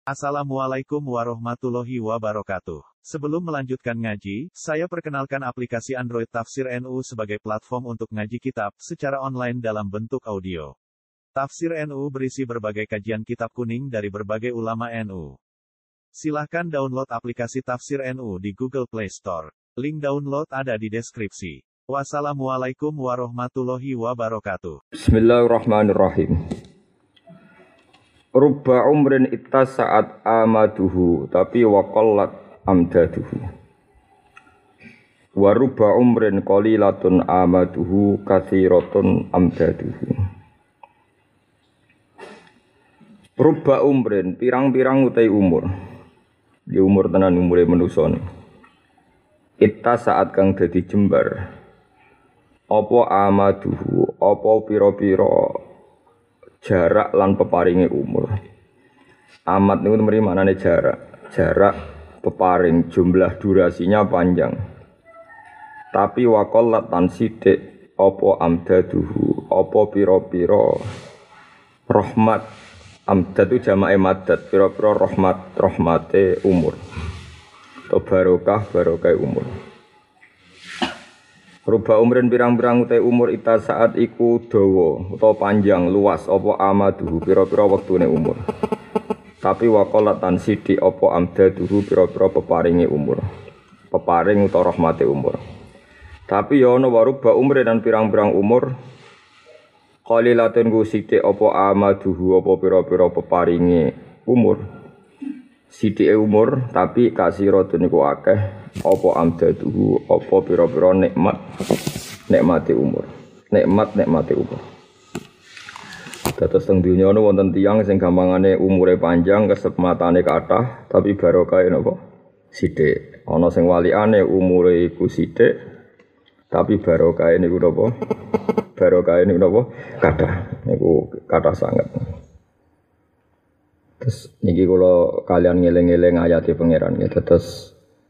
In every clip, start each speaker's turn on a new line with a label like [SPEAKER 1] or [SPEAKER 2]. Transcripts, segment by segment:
[SPEAKER 1] Assalamualaikum warahmatullahi wabarakatuh. Sebelum melanjutkan ngaji, saya perkenalkan aplikasi Android Tafsir NU sebagai platform untuk ngaji kitab secara online dalam bentuk audio. Tafsir NU berisi berbagai kajian kitab kuning dari berbagai ulama NU. Silahkan download aplikasi Tafsir NU di Google Play Store. Link download ada di deskripsi. Wassalamualaikum warahmatullahi wabarakatuh.
[SPEAKER 2] Bismillahirrahmanirrahim. Rubba umrin ittasa'at amaduhu tapi waqallat amdaduhu. Wa rubba umrin qalilatun amaduhu katsiratun amdaduhu. Rubba umrin pirang-pirang utai umur. Di umur tenan umure manusa. Ittasa'at kang dadi jembar. Apa amaduhu, apa pira-pira jarak lan peparinge umur. Amat niku mrene maknane jarak. Jarak peparing jumlah durasinya panjang. Tapi waqallat tan sithik apa amdaduhu, apa pira-pira rahmat. Amdad itu jamake madad, pira-pira rahmate umur. Atau barokah umur. Ruba umrin pirang-pirang utai umur ita saat iku dawa utawa panjang luas apa amaduhu pira-pira wektune umur. Tapi waqalatan sithik apa amdaduhu pira-pira peparinge umur. Peparing utawa rahmate umur. Tapi ya ana waruba umrin dan pirang-pirang umur qalilatun ku sithik apa amaduhu apa pira-pira peparinge umur. Sithike umur tapi kasiratun iku akeh apa amdaduhu apa pira-pira nikmate umur. Nikmate umur. Dados teng donya ana wonten tiyang sing gampangane umure panjang kesematane kathah tapi barokahe napa? Sithik. Ana sing walikane umure iku sithik tapi barokahe niku napa? Barokahe niku napa? Kathah. Niku kathah sanget. Terus niki kula kalian ngeling-eling ayate pangeran nggih. Terus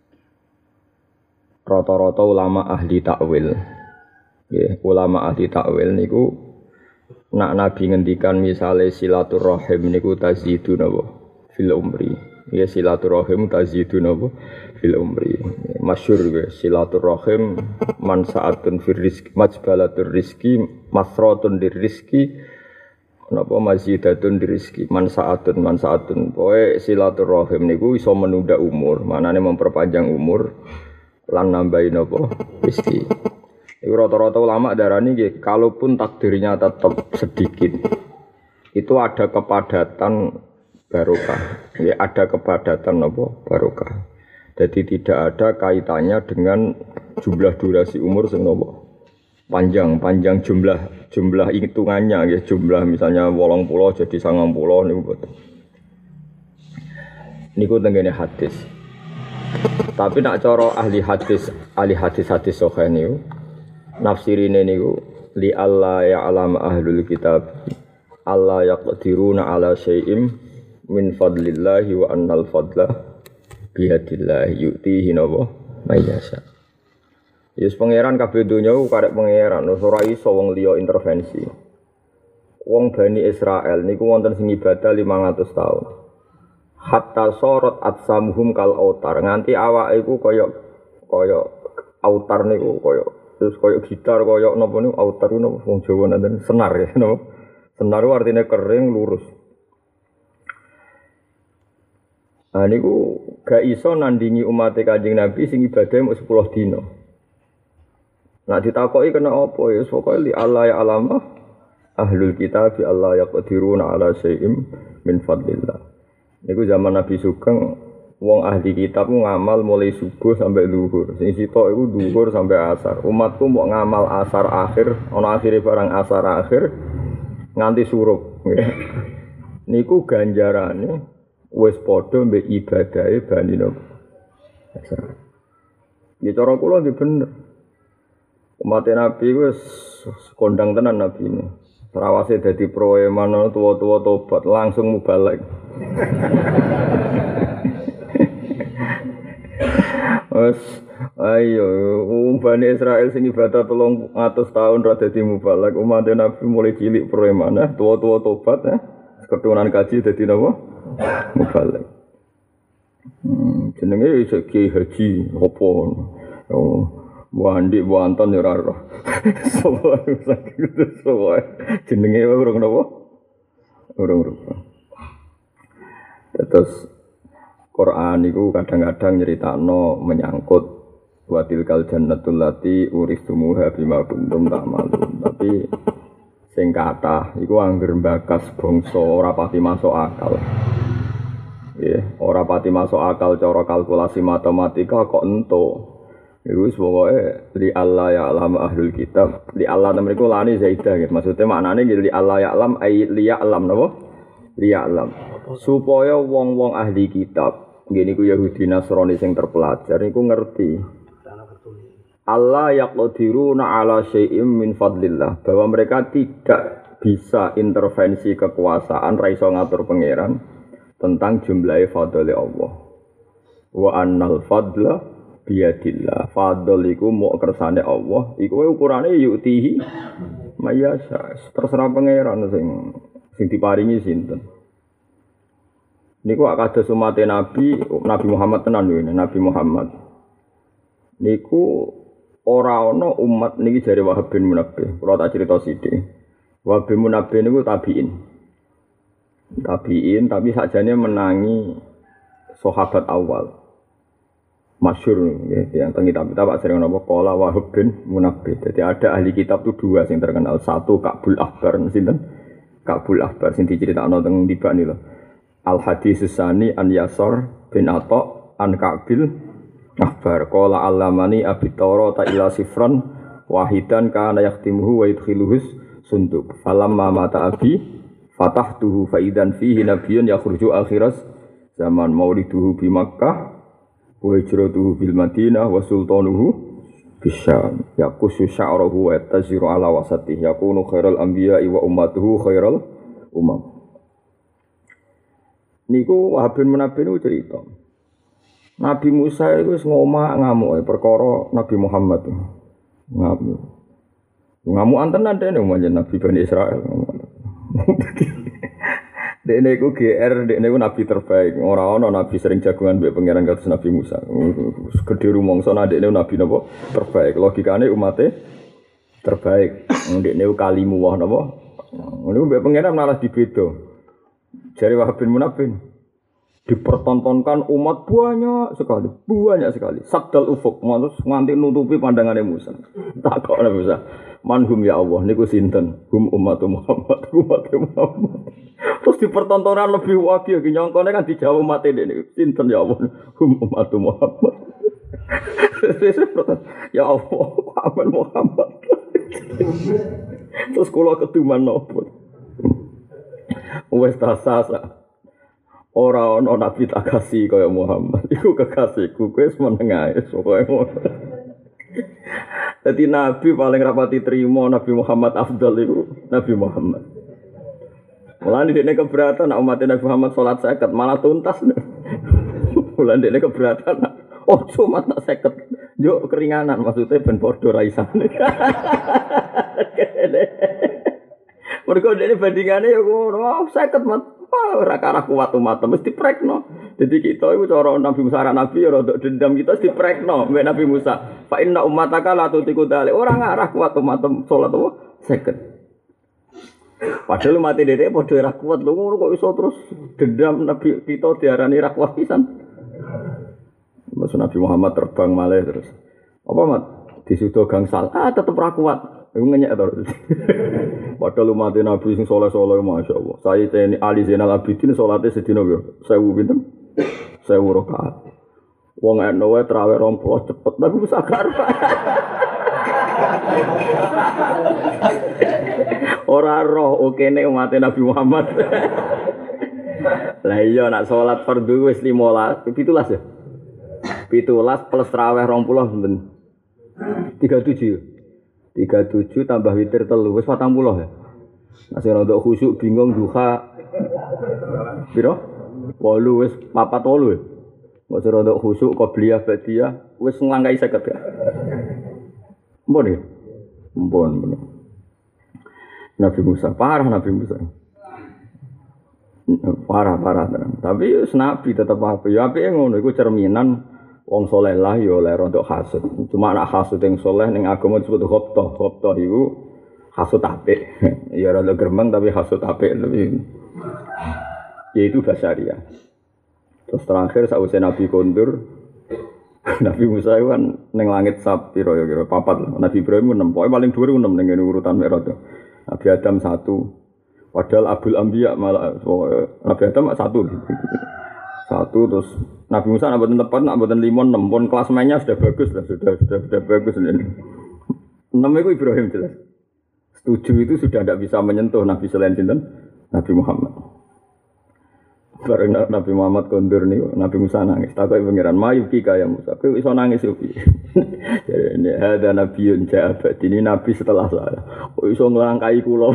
[SPEAKER 2] rata-rata ulama ahli takwil. Nggih, ulama ahli takwil niku nak Nabi ngendikan misale silaturahim niku tazidu napa fil umri. Ya silaturahim tazidu napa fil umri. Masyhur nggih silaturahim mansaatun fir rizqi majbalatur rizqi masratun dir rizqi napa mazidatun rizki mansaatun poe silaturahim niku iso menunda umur manane memperpanjang umur lan nambahi napa rezeki. Iku rata-rata ulama darani nggih kalaupun takdirnya tetap sedikit itu ada kepadatan barokah. Ya ada kepadatan napa barokah. Jadi tidak ada kaitannya dengan jumlah durasi umur sing napa panjang jumlah hitungannya ya jumlah misalnya 80 jadi 90 niku boten. Niku tengene hadis. Tapi nak cara ahli hadis sahih niku nafsirine niku li alla ya'lam ahlul kitab alla yaqdiruna ala syai'im min fadlillahi wa annal fadla biyadillahi yu'tihi nawa mayyasha. Yes pangeran kabeh donya ku karek pangeran, ora iso wong liya intervensi. Wong Bani Israel niku wonten sing ibadah 500 tahun. Hatta sorot atsamuhum kal autar, nganti awake iku kaya autar niku kaya gitar kaya napa niku autar niku wong Jawa nanten senar ya napa. Senar artine kering lurus. Nah niku gak iso nandingi umat Kanjeng Nabi sing ibadah mung 10 dina. Nah ditakoki kena apa ya pokoke li Allah ya alama ahlul kitab bi Allah yaqdiruna ala syai'im min fadlillah. Niku zaman Nabi Sugeng wong ahli kitab ngamal mulai subuh sampai zuhur. Sing sitok iku zuhur sampai asar. Umatku mau ngamal asar akhir, ana akhire barang asar akhir nganti surup. Niku ganjarane wis padha mbek ibadahe Bani Nabi. Ya cara kula nggih bener. Umat Nabi wis kondang tenan Nabi ini. Terawase dadi proeman tua-tua tobat langsung mubalek. Wes ayo Bani Israil sing ibadah 300 tahun ra dadi mubalek. Umat Nabi mulai cilik proeman tua-tua tobat keturunan kaji dadi napa? Mubalek. Jenenge Kiai Haji apa? Oh, Wandi Wanton ya ora roh. Soale sakit soale. Jenenge urung napa? Urung. Terus Quran itu kadang-kadang nyeritakno menyangkut watilkal jannatul lati uristumuha bima kuntum ta'malun. Tapi sing kathah iku angger mbakas bangsa ora pati masuk akal. Nggih, ora pati masuk akal cara kalkulasi matematika kok entuk. Iku wis pokoke li Allah ya alam ahlul kitab. Li Allah mriku lani zaidah nggih. Maksude maknane li Allah ya alam ai li ya alam napa? Li ya alam. Supaya wong-wong ahli kitab, nggih niku Yahudi Nasrani sing terpelajar niku ngerti. Allah yaqdiruna ala syai'im min fadlillah, bahwa mereka tidak bisa intervensi kekuasaan ra iso ngatur pangeran tentang jumlahe fadhole Allah. Wa annal fadla biyadillah. Fadl iku mok kersane Allah, iku ukurane yutihi mayasa. Terserah pangeran sing diparingi sinten. Niku kados umate Nabi Muhammad tenan lho, Nabi Muhammad. Niku ora ana umat niki jare Wahab bin Munabbih. Kula tak crita sithik. Wahab bin Munabbih niku tabi'in. Tabi'in tapi sakjane menangi sahabat awal. Masyhur nggih yang teng kitab Pak sering napa qala Wahab bin Munabbih. Jadi ada ahli kitab itu dua sing terkenal. Satu Ka'bul Ahbar sinten? Ka'bul Ahbar sing diceritakno teng Tibani lho. Al hadis sani an Yasar bin Atha an Ka'bil Ahbar qala allamani abi Taurata ila sifran wahidan kana yaktimuhu wa yudkhiluhus sunduk falamma mata abi fatahtuhu fa idan fihi nabiyyun yakhruju akhiras zaman mauliduhu bi Makkah wa hijratuhu bil Madinah wa sultanuhu bisyam yaqusu sya'ruhu wa taziru ala wasatihi yakunu khairal anbiya'i wa ummatuhu khairal umam. Niku Wahab bin Munabbih niku cerita. Nabi Musa itu wis ngamuk perkara Nabi Muhammad. Ngamuk. Ngamukan tenan dene manjen Nabi Bani Israil. Dene iku GR, dene iku nabi terbaik. Ora ana nabi sering jagongan mbek pangeran kados Nabi Musa. Gedhe rumangsa dekne nabi napa terbaik. Logikane umate terbaik. Dekne kalimu wah napa. Niku mbek pangeran malah dibeda. Jari Wahab bin Munabbih dipertontonkan umat banyak sekali. Sabdal ufuk, nganti nutupi pandangane Musa. Takokne Musa, manhum ya Allah niku sinten? Hum umat Muhammad. Terus dipertontonan lebih wagih nyongkone kan dijawab umat ini. Sinten ya Allah? Hum umat Muhammad. Ya Allah, Muhammad. Terus kula keduman nopo? Wes tasasa. Ora ana nabi tak kasih kaya Muhammad. Iku kekasihku, kowe wis meneng ae pokoke ngono. Dadi nabi paling rapati trimo Nabi Muhammad afdal iku Nabi Muhammad. Mulane dekne keberatan nek umat Nabi Muhammad salat 50 malah tuntas. Mulane dekne keberatan. Oh, cuma tak 50. Yo keringanan maksudnya ben padha ra isane. Mergo dene bandingane yo ngono, 50 mat. Ora karah kuat umat mesti diprekno. Jadi kita iku cara Nabi Musa nabi ya rodok dendam kita mesti diprekno mbek Nabi Musa. Fa inna ummataka la tutiku dalik. Ora ngarah kuat umat salat apa 50. Padahal umat dhewe padha ora kuat lho ngono kok iso terus dendam Nabi kita diarani ra kuat pisan. Mas Nabi Muhammad terbang malih terus. Apa mat disudo gangsal. Tetep ra kuat. Iku ngenyek terus. Padahal umat Nabi sing saleh-saleh masyaallah. Saya teni Ali Zainal Abidin salate sedina yo 1000 pinten? 1000 rakaat. Wong eno wae traweh 20 cepet tapi wis akar. Ora roh okene umat Nabi Muhammad. Lah iya nak salat fardhu wis 15, 17 ya. 17 plus traweh 20 pinten? 37. 37 tambah witir 3 wis 40 ya. Nek sing rada khusyuk bingung duha. Piro? 8 wis 48 ya. Nek sing rada khusyuk qobliyah ba'diyah wis nglangkai 50 ya. Mbon ya. Mbon. Nabi Musa parah Nabi Musa. Parah tenan. Tapi nabi tetep apik. Ya apike ngono iku cerminan wong saleh lah ya oleh rontok hasud. Cuma anak hasud yang saleh ning agama disebut khotbah. Khotbah iku hasud apik. Ya rada gremeng tapi hasud apik lebih. Yaitu basyariah. Terus terakhir sausé Nabi kondur Nabi Musa itu kan ning langit sapiro ya kira papat. Nabi Ibrahim 6, pokoke paling dhuwur 6 ning urutan Mi'raj. Nabi Adam 1. Padahal Abul Anbiya malah Nabi Adam 1. Terus Nabi Musa nak mboten tepat, nak mboten 5 6 pun kelas mainnya sudah bagus lah, sudah bagus ini. 6 itu Ibrahim jelas. 7 itu sudah tidak bisa menyentuh Nabi selain sinten? Nabi Muhammad. Bareng Nabi Muhammad kondur nih, Nabi Musa nangis. Takoki pangeran, "Mayuki kaya Musa, kowe iso nangis yo piye?" Jadi ini ada Nabiun Ja'abat, ini Nabi setelah saya. Kok iso nglangkai kula?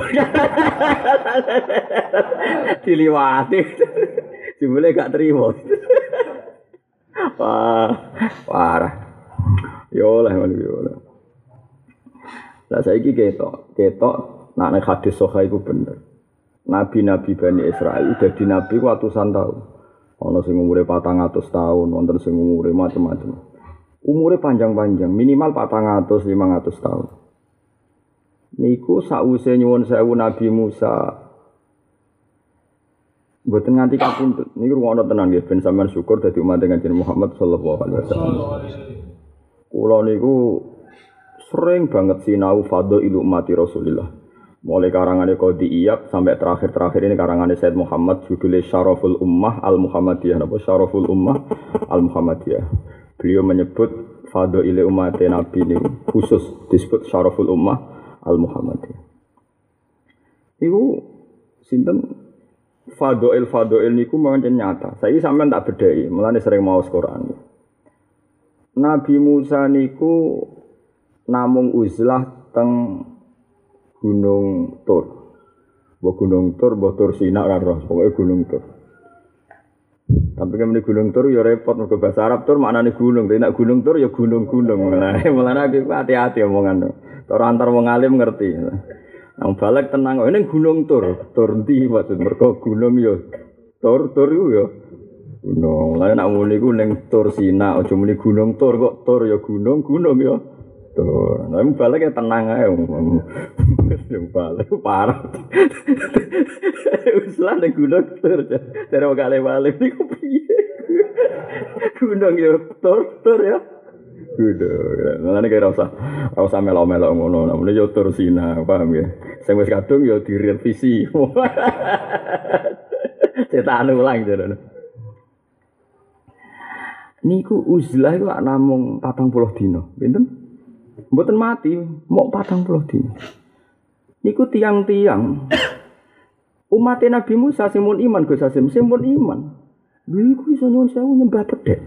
[SPEAKER 2] Diliwati. Jebule gak terima. Wah, parah. Yo lah ngono yo. Lah saiki ketok nek hadis sahih iku bener. Nabi-nabi Bani Israil dadi nabi ratusan tahun. Ana sing umure 400 tahun, wonten sing umure macam-macam. Umure panjang-panjang, minimal 400 500 tahun. Niku sause nyuwun sewu Nabi Musa mboten nganti kapundhut. Niku ngono tenan nggih ben sampean syukur dadi umat Kanjeng Muhammad sallallahu alaihi wasallam. Kula niku sering banget sinau fadhailul ummati Rasulillah. Mulai karangannya Qadi Iyad sampai terakhir ini karangannya Said Muhammad judulnya Syaraful Ummah Al-Muhammadiyah. Apa Syaraful Ummah Al-Muhammadiyah. Beliau menyebut fadhail umat Nabi ini khusus disebut Syaraful Ummah Al-Muhammadiyah. Iku sinten fadhail niku mawon nyata. Saiki sampean tak bedhai, mulane sering maos Quran. Nabi Musa niku namung uzlah teng Gunung Tur. Gunung Tur Sina ora roh, pokoke Gunung Tur. Tapi kan Gunung Tur ya repot mergo bahasa Arab Tur maknane gunung, tapi nek Gunung Tur ya gunung-gunung. Nah, mulane aku hati-hati omongan. Ora antar wong alim ngerti. Nang balik tenang kok ning Gunung Tur. Tur ndi maksud mergo gunung ya Tur iku ya gunung. Lah nek muni iku ning Tur Sina, aja muni Gunung Tur kok Tur ya gunung ya. Tuh, nah balik ya tenang aja, balik parah. Usulan yang gunung tur, dari kali balik ni kopi. Gunung ya tur ya. Gunung, nanti kira usah melo-melo ngono, namanya ya tur Sina, paham ya? Saya wis kadung ya direvisi. Cetak ulang jadi. Niku uzlah itu namung 40 dino, pinten? Mboten mati, mau 40 dino. Niku tiang-tiang umat Nabi Musa sing mun iman Gus Hasim, sing mun iman. Lha iku iso nyuwun sewu nyembah pedhek.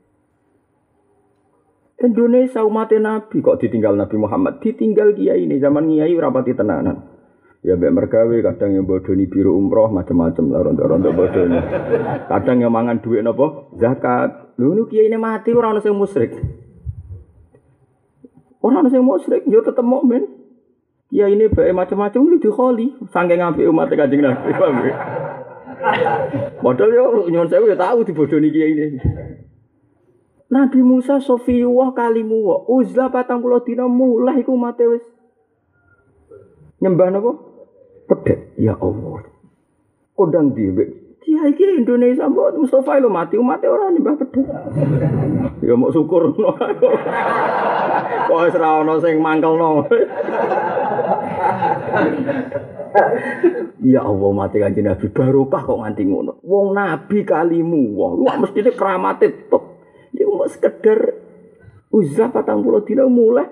[SPEAKER 2] Indonesia umat Nabi kok ditinggal Nabi Muhammad, ditinggal kiai ini zaman kiai ora pati tenanan. Ya mbek mergawe kadang yang bodoni biru umroh macam-macam lah rontok-rontok bodoni. Kadang yang mangan duit napa? Zakat. Lho niku kiai ini mati ora ono sing musyrik. Orang sing musyrik yo tetep mukmin. Ya ini bae macam-macam iki dikholi saking apike umat Kanjeng Nabi. Modal yo nyuwun sewu yo tahu dibodoni kiai ini. Nabi Musa Sofiyuwah kalimu uzlah 40 dina mulai iku umat wis nyembah napa? Pedhek. Ya Allah. Kodang dhewe kiai iki Indonesia mbok Mustafa lho mati umat ora nyembah pedhek. Ya mau syukur ngono. Kok wis ora ana sing mangkelno. Ya Allah mati Kanjeng Nabi barokah kok nganti ngono. Wong nabi kalimu wah mestine keramate top. Ya mau sekedar uzah 40 dina mulai.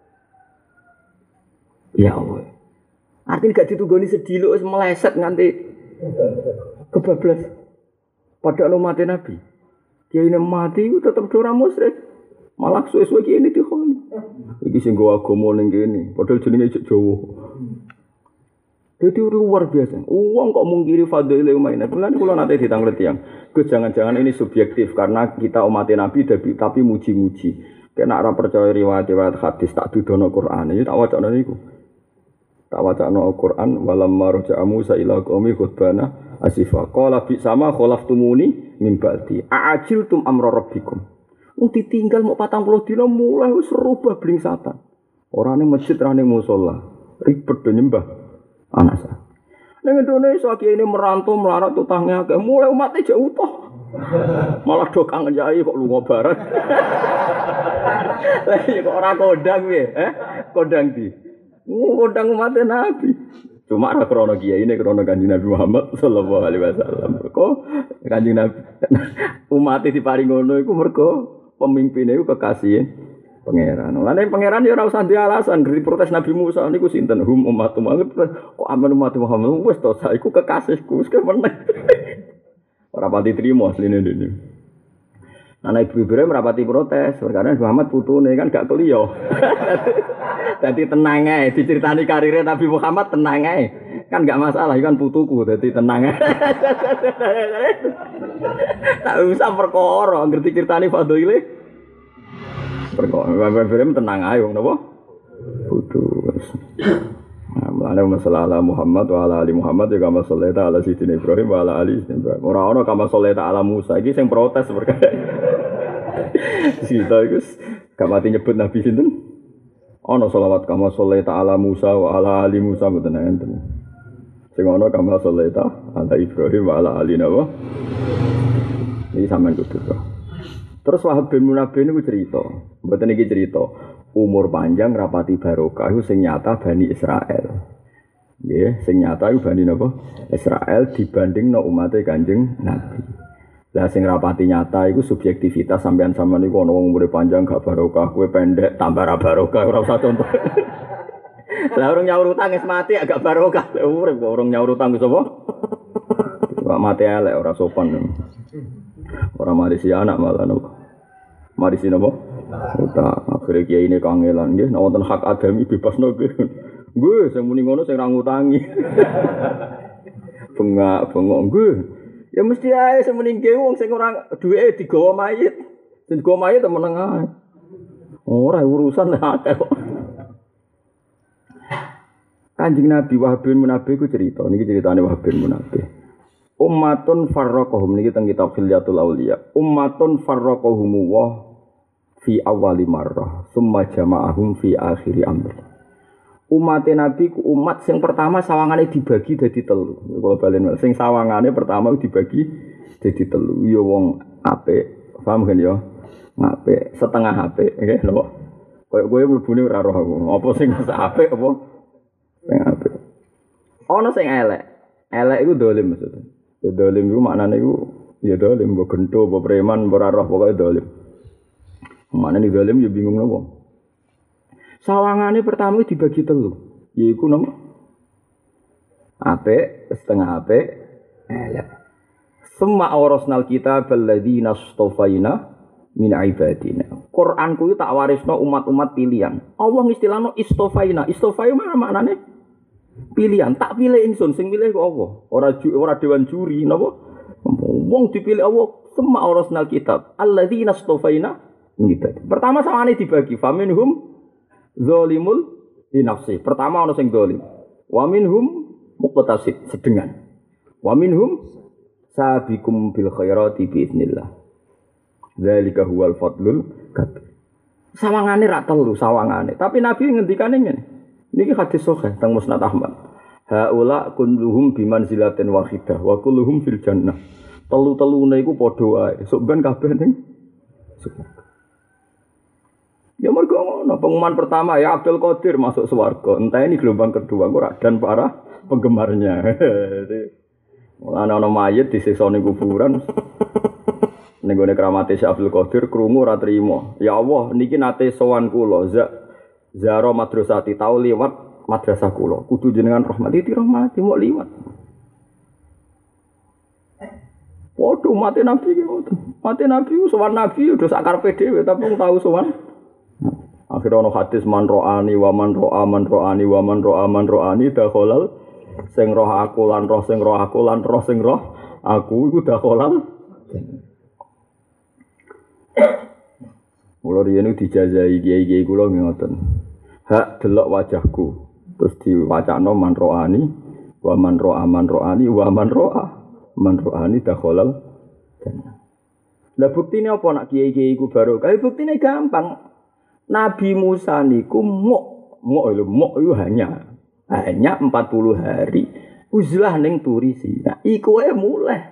[SPEAKER 2] Ya Allah. Artinya gak ditunggoni sediluk wis meleset nganti kebablas. Padahal umat Nabi. Kiai ini mati tetap ora musyrik. Malah suwe-suwe kiai ini dikhoni. Iki sing nggo agama ning kene, padahal jenenge cek Jawa. Jadi luar biasa. Uang kok mungkiri fadhile umat Nabi. Lan kula nate ditanglet tiyang. Gus jangan-jangan ini subjektif karena kita umat Nabi tapi muji-muji. Kena ora percaya riwayat-riwayat hadis tak dudono Quran. Iki tak wacana niku. Tak wacana Al-Qur'an walam marja'a Musa ila qaumi khutbana asifa. Qala bi sama khalaftumuni min ba'di. A'ajiltum amra rabbikum. Ditinggal mau 40 dina mulai wis rubah blingsatan. Orane masjid rane musala. Ribet do nyembah anak sa. Ning Indonesia kiai ini merantau melarat utangnya akeh mulai umatnya jauh utuh. Malah do kangen yai kok lunga bareng. Lah ya kok ora kodang piye? Kodang di. Kodang umat Nabi. Cuma ora krana kiai ini krana Kanjeng Nabi Muhammad sallallahu alaihi wasallam. Kok Kanjeng Nabi umat diparing ngono iku mergo pemimpine iku kekasih pangeran. Lane pangeran ya ora usah dialasan dari protes Nabi Musa niku sinten hum umatum kok aman umat Muhammad wis to saiku kekasihku wis kemeneng. Ora pati trimo asline dene. Ana Ibu Ibrahim rapati protes, karena Muhammad putune kan gak keliyo. Dadi tenang ae diceritani karirnya Nabi Muhammad tenang ae. Kan gak masalah, kan putuku dadi tenang ae. Tak usah perkara ngerti ceritani fadhile. Perkara Nabi Ibrahim tenang ae wong napa? Putus. Mulane masalah Muhammad wa ala ali Muhammad ya kama sholeta ala sayyidina Ibrahim wa ala ali Ibrahim. Ora ana kama sholeta ala Musa iki sing protes perkara. Sita iku gak mati nyebut Nabi sinten? Ana selawat kama sholeta ala Musa wa ala ali Musa mboten enten. Sing ana kama sholeta ala Ibrahim wa ala ali Nabi. Iki sampean kudu. Terus Wahab bin Munabbih niku cerita, mboten iki cerita. Umur panjang rapati barokah iku sing nyata Bani Israel. Nggih, sing nyata iku Bani napa? Israel dibandingno umate Kanjeng Nabi. Lah sing rapati nyata iku subjektivitas sampean-sampean niku ana wong umure panjang gak barokah, kowe pendek tambah ra barokah ora usah contoh. Lah urung nyaur utang wis mati agak barokah. Urip kok urung nyaur utang wis apa? Kok mati elek ora sopan. Ora marisi anak malah nopo. Marisi napa? Uta akhire kiai ini kangelan nggih nek wonten hak adami bebasno nggih. Nggih sing muni ngono sing ra ngutangi. Bengak-bengok nggih. Ya mesti ae sing muni nggih wong sing ora duweke digawa mayit. Sing digawa mayit temen ae. Ora urusan akeh kok. Kanjeng Nabi Wahab bin Munabbih ku cerita niki ceritane Wahab bin Munabbih. Ummatun farraqahum niki teng kitab Khilyatul Auliya. Ummatun farraqahum wa fi awali marrah summa jama'ahum fi akhiri amr. Umat Nabi ku umat sing pertama sawangane dibagi dadi telu. Kalau balen sing sawangane pertama dibagi dadi telu. Ya wong apik, paham kan ya? Apik, setengah apik, nggih lho. Kayak kowe mlebune ora roh aku. Apa sing apik apa? Sing apik. Ana sing elek. Elek iku dolim maksudnya. Ya dolim iku maknane iku ya dolim mbok gento, mbok preman, mbok ora roh pokoke dolim. Mana nih dalam ya bingung nopo. Sawangane pertama dibagi telu, yaiku nopo. Apik, setengah apik, elek. Semua orosnal kitab alladzina stofaina min ibadina. Quran ku tak warisno umat-umat pilihan. Allah istilahno istofaina. Istofaina mana maknane? Pilihan. Tak pilih ingsun, sing pilih kok Allah. Ora dewan juri napa? Wong dipilih Allah. Semua orosnal kitab alladzina stofaina. Pertama samane dibagi faminhum zalimul li nafsi. Pertama ana sing zalim. Wa minhum muqtasid sedengan. Wa minhum sabiqum bil khairati bi idznillah. Dzalika huwal fadlul kabir. Sawangane ra telu sawangane. Tapi Nabi ngendikane ngene. Niki hadis sahih teng Musnad Ahmad. Haula kulluhum bimanzilatin wahidah wa kulluhum fil jannah. Telu-telune iku padha wae. Sok ben kabeh ning ya mergo ngono, pengumuman pertama ya Abdul Qadir masuk swarga. Entah ini gelombang kedua ora dan para penggemarnya. Mulane ana mayit disiksa ning kuburan. Ning gone kramate Syekh Abdul Qadir krungu ora trima. Ya Allah, niki nate sowan kula, Zaro madrasati tau liwat madrasah kula. Kudu jenengan rahmati dirahmati mok liwat. Waduh mati Nabi ki ngoten. Mati Nabi sowan Nabi udah sakarepe dhewe tapi wong tau sowan. Akhirnya ono hadis man ro'ani wa man ro'a man ro'ani wa man ro'a man ro'ani dakhalal sing roh aku lan roh sing roh aku lan roh sing roh aku iku dakhalal. Mula riyen dijajahi kiai-kiai kula ngoten. Hak delok wajahku terus diwacana man ro'ani wa man ro'a man ro'ani wa man ro'a Man ro'ani dakhalal jannah. Lah buktine apa nak kiai-kiai iku barokah? Buktine gampang. Nabi Musa niku muk itu hanya 40 hari uzlah ning Turi Sina. Iku wae mulai.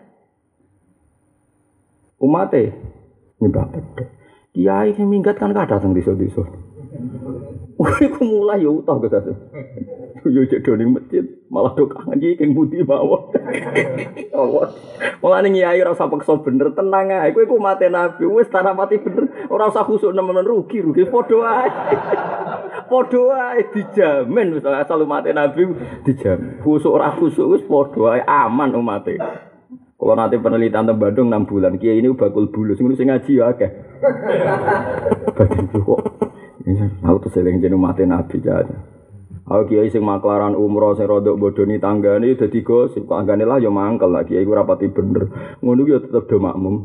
[SPEAKER 2] Umate nyembah pedhe. Kiai sing minggat kan kathah teng desa-desa. Iku mulai yo utah Gus. Yo cek doning masjid, malah do kangen iki king budi mawon. Allah. Mulane kiai ora usah paksa bener, tenang ae. Kowe iku mate Nabi, wis tanah mati bener, ora usah khusuk nemen rugi padha ae. Padha ae dijamin wis asal mate Nabi dijamin. Khusuk ora khusuk wis padha ae aman umate. Kalau nanti penelitian teng Bandung 6 bulan, kiai ini bakul bulus, sing ngaji ya akeh. Batin kok. Aku tuh seling jeneng mate Nabi aja. Aku kiai sing maklaran umroh sing rodok bodoni tanggane dadi gosip kok anggane lah ya mangkel lah kiai ku rapati bener. Ngono ku ya tetep do makmum.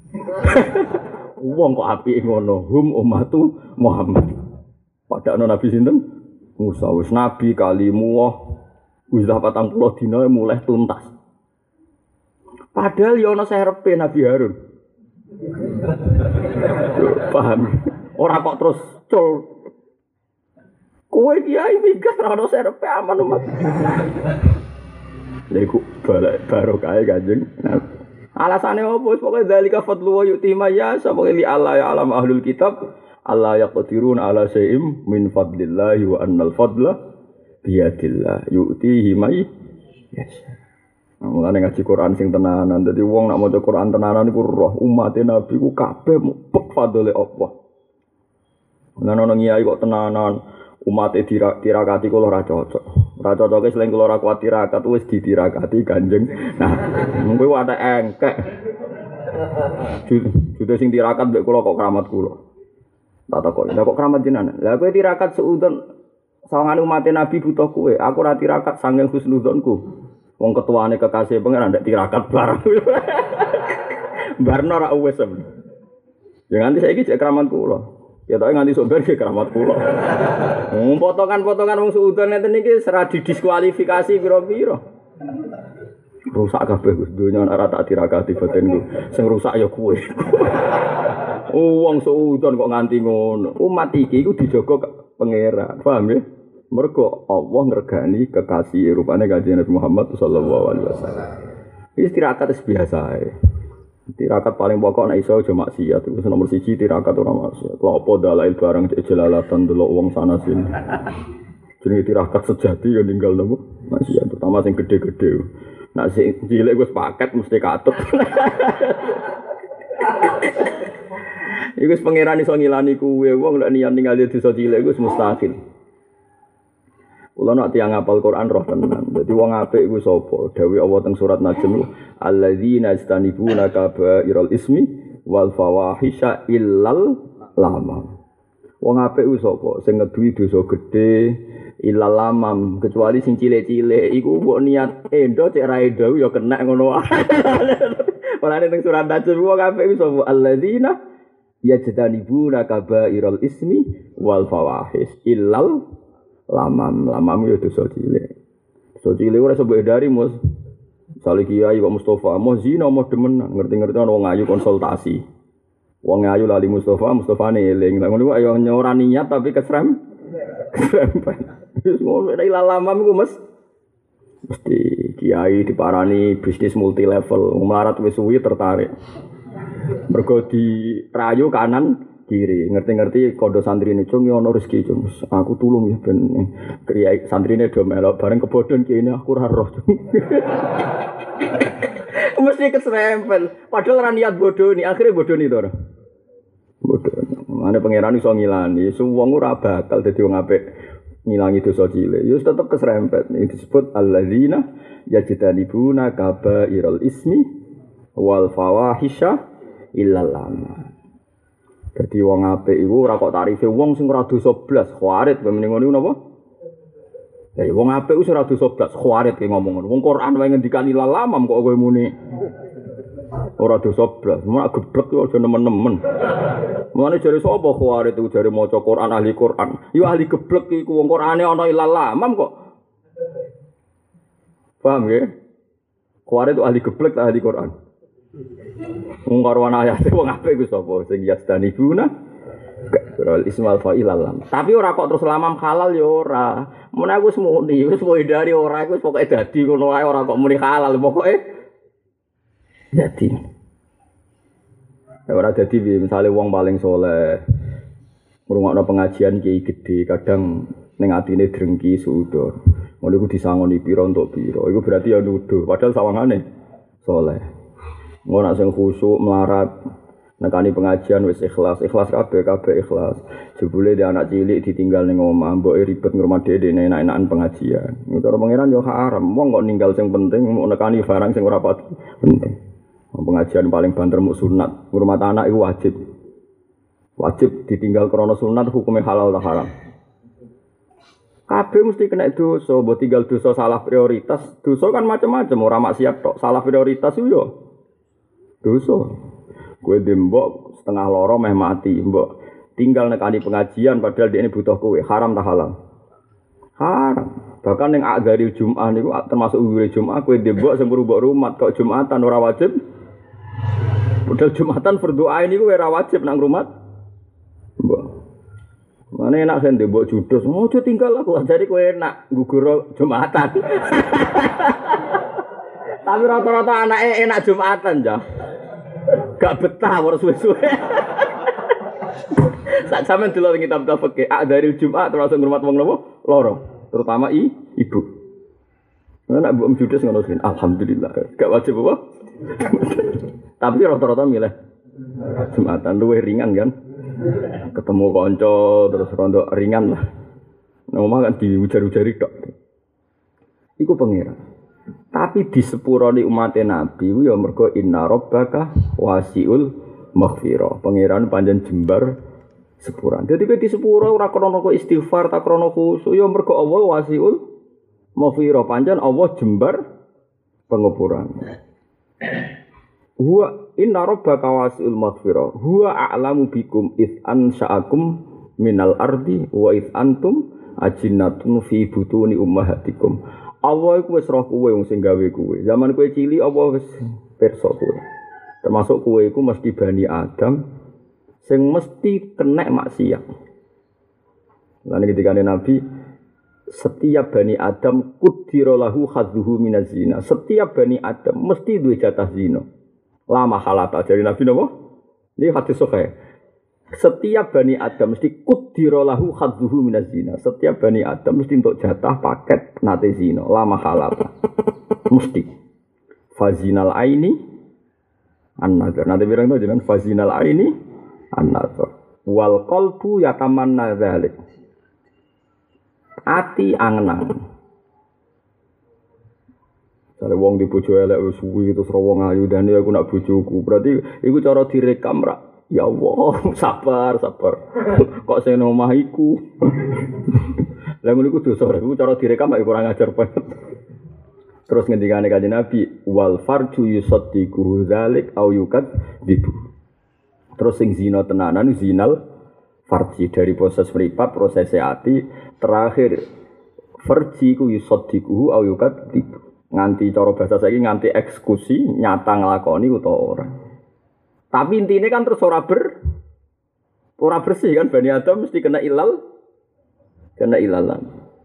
[SPEAKER 2] Wong kok apike ngono, hum ummatu Muhammad. Padahal Nabi sinten? Musa wis nabi kalimuh wis 40 dina mulai tuntas. Padahal ya ana serepe Nabi Harun. Paham? Ora kok terus cul. Kowe kiai minggat ora ono serepe aman umat. Lha iku barokah Kanjeng. Alasane opo? Pokoke zalika fadlu wa yu'ti may yasha. Pokoke li Allah ya alam ahlul kitab Allah yaqdirun ala syai'im min fadlillahi wa annal fadla biyadillah yu'tihi may yasha. Mulane ngaji Quran sing tenanan. Dadi wong nak maca Quran tenanan iku roh umat Nabi ku kabeh mupek fadhole Allah. Lan ono ngiyai kok tenanan umat tirakati kula ora cocok. Ora cocoke selain kula ora kuat tirakat wis ditirakati Kanjeng. Nah, kuwi wae engkek. Jude sing tirakat mbek kula kok keramat kula. Tak takok, lha kok keramat jenengan? Lah kowe tirakat seudon sawangane umat Nabi butuh kowe. Aku ora tirakat sanging husnudzonku. Wong ketuane kekasih pengen ndak tirakat bareng. Barno ora wis. Ya nganti saiki cek keramat kula. Ya tak nganti somber ke keramat kula. Potongan-potongan wong suudon ngeten iki serah didiskualifikasi pira-pira. Rusak kabeh Gus donya ora tak tirakati batinku. Sing rusak ya kowe. Wong suudon kok nganti ngono. Umat iki iku dijaga pangeran. Paham ya? Mergo Allah ngregani kekasih rupane Kanjeng Nabi Muhammad sallallahu alaihi wasallam. Iki tirakat biasa ae. Tirakat paling pokok nek iso aja maksiat. Wis nomor 1 tirakat ora maksiat. Lha apa dalail barang jelalatan delok wong sana sini. Jenenge tirakat sejati ya ninggal nopo? Maksiat terutama sing gede-gede. Nek sing cilik wis paket mesti katut. Iku wis pangeran iso ngilani kuwe wong nek niat ninggal desa cilik wis mustahil. Kula nak tiyang ngapal Quran roh tenan. Dadi wong apik iku sapa? Dawuh Allah teng surat Najm, alladzina yastanibuna kaba'iral ismi wal fawahisha illal lamam. Wong apik iku sapa? Sing ngeduwi dosa gedhe illal lamam, kecuali sing cilik-cilik iku mbok niat endo cek ra endo ya kena ngono wae. Ora ning surat Najm wong apik iku sapa? Alladzina yastanibuna kaba'iral ismi wal fawahish illal lamam yo dosa cilik. Dosa cilik ora sebab dari Mus. Sale kiai kok Mustofa, mau zina mau demenan, ngerti-ngerti ana wong ayu konsultasi. Wong ayu lali Mustofane eling. Lah ngono ayo ora niat tapi kesrem. Wis ngono nek lamam iku Mas. Mesti kiai diparani bisnis multi level, melarat wis suwi tertarik. Mergo dirayu kanan kiri, ngerti-ngerti kondo santrine cung ya ana rezeki cung. Aku tulung ya ben kiai santrine do melok bareng kebodhon kene aku ora roh. Mesti keserempel. Padahal ora niat bodoni, akhire bodoni to ora. Bodoni. Mane pangeran iso ngilani, wong ora bakal dadi wong apik ngilangi dosa cilik. Ya tetep keserempet. Iki disebut alladzina yajtanibuna kabairal ismi wal fawahisha illal lamam. Jadi wong apik iku ora kok tarife wong sing ora dosa blas, khawarit mrene ngono napa? Ya wong apik wis ora dosa blas, khawarit ki ngomong ngono. Wong Quran wae ngendikani lalamam kok kowe muni. Ora dosa blas, mak geblek yo aja nemen-nemen. Mulane jare sapa khawarit iku jare maca Quran ahli Quran. Yo ahli geblek iku wong Qurane ana lalamam kok. Paham nggih? Khawarij itu ahli geblek ta ahli Quran. Wong karo ayate wong apik iku sapa sing yastanibuna Kal ismal fa'il alam. Tapi ora kok terus lamam halal ya ora. Mun aku wis muni, wis dari ora iku wis pokoke dadi ngono wae ora kok muni halal pokoke dadi. Ora dadi misale wong paling saleh ngrungokno pengajian kiai gede kadang ning atine drengki suudon. Ngono iku disangoni pira untuk pira. Iku berarti ya nuduh padahal sawangane saleh. Ngono sing khusyuk melarat nekani pengajian wis ikhlas kabeh ikhlas. Jebule dia anak cilik ditinggal ning omah, mboke ribet ngurmat dhewe enak-enakan pengajian. Cara pangeran yo haram. Wong kok ninggal sing penting mau nekani barang sing ora pati penting. Pengajian paling banter muk sunat, ngurmat anak iku wajib. Wajib ditinggal krana sunat hukumnya halal ta haram. Kabeh mesti kena dosa, mbok tinggal dosa salah prioritas. Dosa kan macam-macam, ora maksiat tok. Salah prioritas yo dosa. Kowe dembok setengah loro meh mati, mbok tinggal nekani pengajian padahal dia ini butuh kowe, haram ta halal? Haram. Bahkan ning akdari Jumat niku termasuk wiwit Jumat kowe dembok sing mbok rumat kok Jumatan ora wajib. Padahal Jumatan berdoa ini kowe ora wajib nang rumat. Mbok. Mane enak sen dembok judus, ojo tinggal aku ajari kowe enak gugur Jumatan. Tapi rata-rata anake enak Jumatan ya. Gak betah ora suwe-suwe. Sak sampean delok kitab-kitab fikih, dari Jumat termasuk ngurmat wong loro, terutama ibu. Nek mbok judes ngono sih, alhamdulillah. Gak wajib apa? Tapi rata-rata milih Jumatan luwih ringan kan. Ketemu kanca terus rondo ringan lah. Nang omah kan diujar-ujari tok. Iku pangeran. Tapi di sepurane umat Nabi ku ya mergo inna rabbaka wasiul maghfirah. Pangeran panjen jembar sepuran. Dadi kowe di sepura ora krana kok istighfar ta krana khusyuk ya mergo Allah wasiul maghfirah. Panjen Allah jembar pengepuran. Huwa inna rabbaka wasiul maghfirah. Huwa a'lamu bikum id ansa'akum minal ardi wa id antum ajinnatun fi butuni ummahatikum. Allah iku wis roh kowe wong sing gawe kowe. Zaman kowe cilik Allah wis pirsa kowe. Termasuk kowe iku mesti Bani Adam sing mesti kena maksiat. Lan ketika Nabi setiap Bani Adam qudira lahu hadzuhu minaz zina. Setiap Bani Adam mesti duwe jatah zina. Lama halata dari Nabi napa? Ini hadis sahih. Setiap Bani Adam mesti qudira lahu hadzuhu minaz zina. Setiap Bani Adam mesti untuk jatah paket nate zina, lama halata. Mesti. Fazinal aini an-nazar. Nanti bilang itu jenengan fazinal aini an-nazar. Wal qalbu yatamanna dzalik. Ati angen-angen. Jare wong di bojo elek wis suwi terus wong ayu dan aku nak bojoku. Berarti iku cara direkam ra. Ya Allah, sabar. Kok sing nang omah iku. Lah ngono iku dosa, iku cara direkam mek kurang ajar banget. Terus ngendikane Kanjeng Nabi, wal farju yusaddiqu dzalik au yukadibu. Terus sing zina tenanan zinal farji dari proses mripat, proses ati, terakhir farji ku yusaddiqu au yukadibu. Nganti cara bahasa saiki nganti eksekusi nyata nglakoni utawa ora. Tapi intinya kan terus ora bersih kan Bani Adam mesti kena ilalan.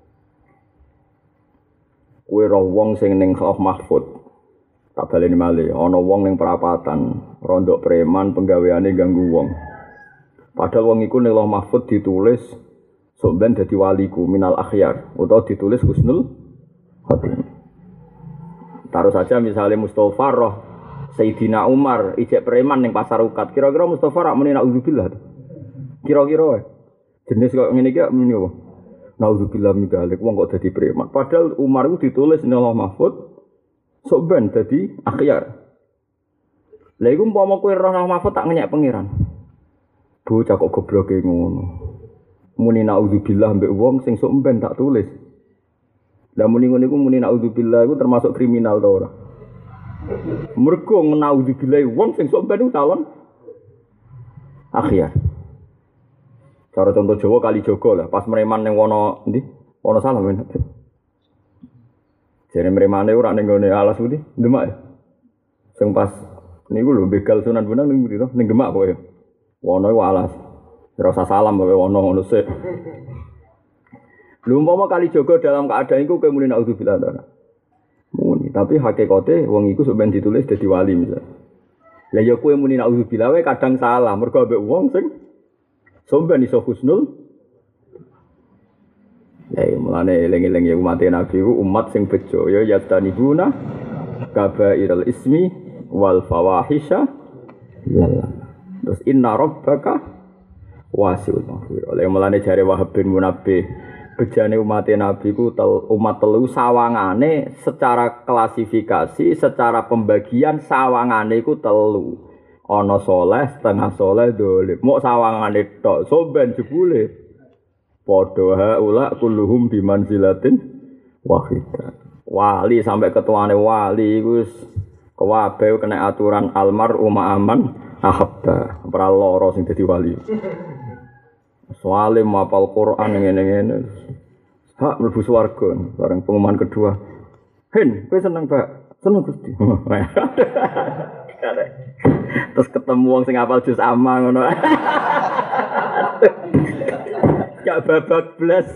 [SPEAKER 2] Kowe ro wong sing ning Lauh Mahfud. Tak baleni malih ana wong ning perapatan, rondok preman penggaweane ganggu wong. Padahal wong iku ning Lauh Mahfud ditulis sok ben dadi waliku minal akhyar utawa ditulis husnul khotimah. Taruh saja misalnya Mustafa roh Sayyidina Umar ijek preman ning pasar ukat. Kira-kira Mustafa rak muni naudzubillah. Kira-kira jenis kok ngene iki muni apa? Naudzubillah min dzalik wong kok dadi preman. Padahal Umar itu ditulis ning Allah Mahfud sok ben dadi akhyar. Lha iku umpama kowe roh Allah Mahfud tak ngenyek pangeran. Bocah kok gobloke ngono. Muni naudzubillah mbek wong sing sok ben tak tulis. Lah muni ngono iku muni naudzubillah iku termasuk kriminal ta ora? Mergo naudzubillah wong sing sok ben calon akhyar. Cara contoh Jawa kali Jogo lah, pas mereman ning wono ndi? Wono salah men. Jare mremane ora ning gone alas putih, Demak ya. Sing pas niku lho begal Sunan Bonang ning mriki to, ning Demak kowe. Wono iku alas. Ora usah salam kowe wono ngono sik. Lho umpama kali jaga dalam keadaan iku kowe muni naudzubillah ta. Muni, tapi hakikate wong iku sok ben ditulis dadi wali misal. Lah ya kowe muni naudzubillah wae kadang salah mergo ambek wong sing somben iso husnul. Ya mulane eling-eling ya umat Nabi ku umat sing bejo ya yastanibuna kabairal ismi wal fawahisha. Terus inna rabbaka wasi'ul maghfirah. Oleh mulane jare Wahab bin Munabbih bejane umat Nabi ku umat telu sawangane secara klasifikasi, secara pembagian sawangane iku telu. Ana saleh, setengah saleh, dolim. Mok sawangane tok, soben jebule. Padha haula kulluhum bimanzilatin wahidah. Wali sampai ketuane wali iku wis kabeh kena aturan almar aman ahabba. Ora lara sing dadi wali. Soale mapal Quran ngene-ngene. Hak mlebu swarga bareng pengumuman kedua. Hen, kowe seneng, Pak? Seneng Gusti. Terus ketemu wong sing hafal juz amma ngono. Gak babak blas.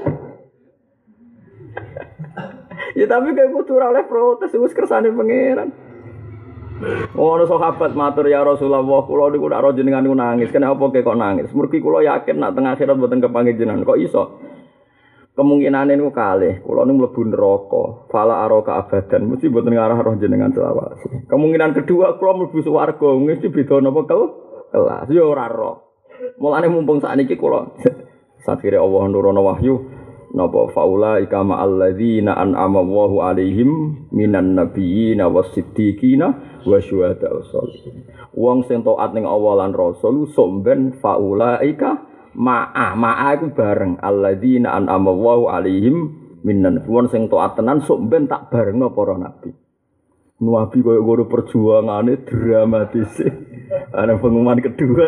[SPEAKER 2] Ya tapi kayak kudu ora oleh protes wis kersane pangeran. Ono sahabat matur ya Rasulullah, kula niku nak ro jenengan niku nangis. Kenapa kok nangis? Mergi kula yakin nak teng akhirat mboten kepanggih jenengan. Kok iso? Kemungkinane niku kalih. Kula niku mlebu neraka. Fala araka abadan. Mesti mboten ngarah roh jenengan selawase. Kemungkinan kedua kula mlebu swarga. Mesti beda napa kelas. Ya ora roh. Mulane mumpung sakniki kula sakire Allah nurono wahyu napa faula ikama alladzina an'ama Allahu alaihim minan nabiyina was-siddiqina wasyuhada wassalihin. Wong sing taat ning Allah lan Rasul somben faula ika ma'a iku bareng alladzina an'ama Allahu alaihim minan wong sing taat tenan somben tak barengno para nabi. Nabi koyo ngono perjuangane dramatis. Ana pengumuman kedua.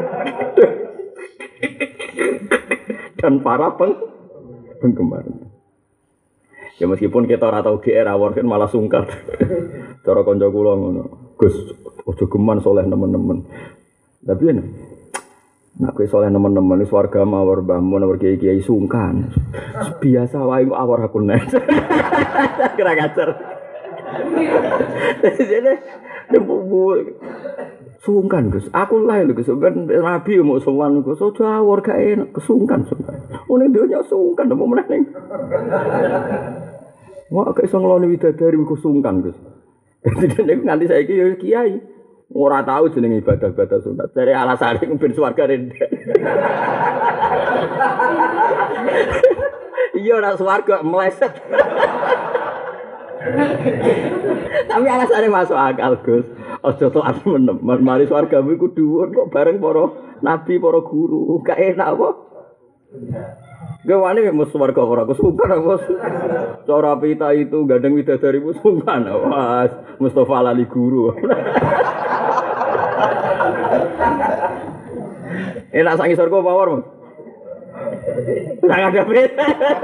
[SPEAKER 2] Dan para penggemar. Ya meskipun kita ora tau GR awor kan malah sungkan. Cara kanca kula ngono. Gus, aja geman soleh nemen-nemen. Tapi ya nek kowe soleh nemen-nemen wis warga mawar mbahmu nomor kiai-kiai sungkan. Biasa wae kok awor aku nek. Kira ngajar. Jadi sungkan Gus, aku lah lho Gus, ben Nabi mau sowan Gus, aja awor gak enak, kesungkan. Ning donya sungkan apa meneh ning. Wah, gak iso ngloni widadari ku sungkan Gus. Dadi nganti saiki ya kiai ora tahu jeneng ibadah-ibadah sunat. Dari alasane ben swarga rendek. Iya ora swarga meleset. Tapi alasannya masuk akal Gus. Aja tok menem, mari swargamu iku dhuwur kok bareng para nabi, para guru. Gak enak apa? Gawane mek swarga ora kesungkan apa? Cara pita itu gandeng widadari sungkan. Wah, Mustofa lali guru. Enak sak ngisor kok power, Mas. Sangat ada beda.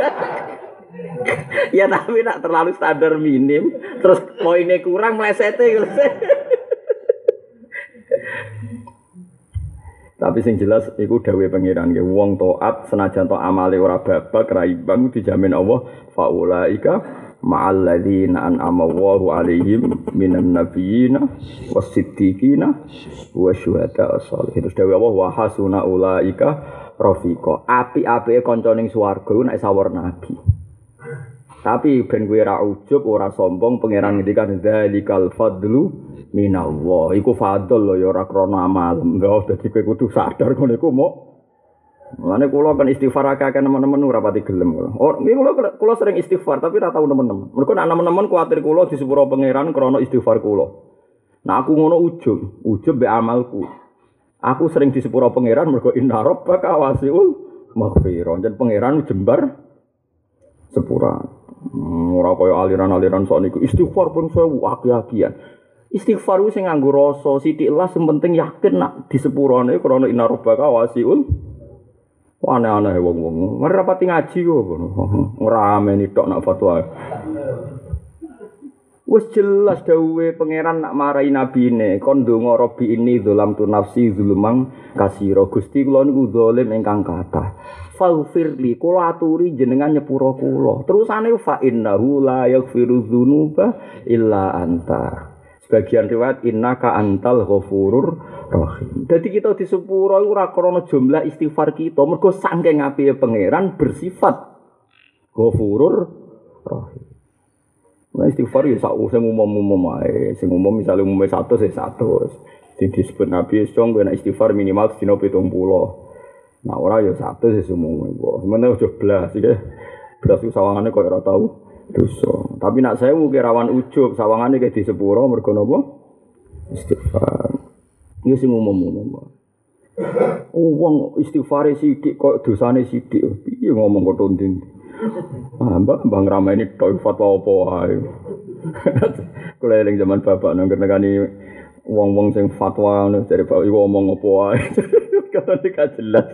[SPEAKER 2] Ya tapi nak terlalu standar minim, terus poinnya kurang melesete. Tapi sing jelas iku dawuhe pangeran nggih wong taat senajan to amale ora babak ra imbang dijamin Allah faulaika ma'al ladzina an'ama Allahu 'alaihim minan nabiyina was-siddiqina wasyuhada as-shalihin. Terus dawuhe Allah wa hasuna ulaika rafiqa. Api-apike kanca ning swarga nek sawur nabi. Tapi ben kowe ora ujug, ora sombong, pangeran ngendikan dzalikal fadlu minallah. Iku fadl lho ya ora krana amal. Enggak dadi kowe kudu sadar ngono iku mok. Mulane kula kan istighfar akeh nemen-nemen ora pati gelem kula. Oh, kula sering istighfar tapi ora tau nemen-nemen. Mergo nek nemen-nemen kuwatir kula di sepuro pangeran krana istighfar kula. Nah aku ngono ujug mbek amalku. Aku sering di sepuro pangeran mergo inna rabbaka wasi'ul maghfirah. Jan pangeran jembar sepura. Ora kaya aliran-aliran sok niku istighfar pun sewu aki-akian. Istighfar ku sing nganggo rasa sithik lah sing penting yakin nak di sepurane krana inna rabbaka wasiul. Aneh-aneh wong-wong. Ora pati ngaji kok ngono. Ora ameni tok nak fatwa. Wes jelas dawuhe pangeran nak marahi nabine kon ndonga Rabbi ini dzalam tu nafsi zulumang kasira Gusti kula niku zalim ingkang kathah faghfirli kula aturi jenengan nyepuro kula terusane fa innahu la yaghfiru dzunuba illa anta sebagian riwayat innaka antal ghafurur rahim dadi kita disepuro iku ora krana jumlah istighfar kita mergo saking apike pangeran bersifat ghafurur rahim. Nah istighfar ya sak sing umum-umum ae, sing umum misale umume 100 ya 100. Sing disebut Nabi wis dong nek istighfar minimal dina 70. Nah ora ya 100 ya umume kok. Sementara aja blas iki. Blas iku sawangane kok ora tau dosa. Tapi nak saya mungkin rawan ujub sawangane kayak di sepuro mergo napa? Istighfar. Iki sing umum-umum. Wong istighfare sithik kok dosane sithik. Piye ngomong kok tonding. Mbak ngrameni tok fatwa apa wae. Kula eling zaman bapak nang nekani wong-wong sing fatwa ngono jare bapak iku ngomong apa wae. Katane gak jelas.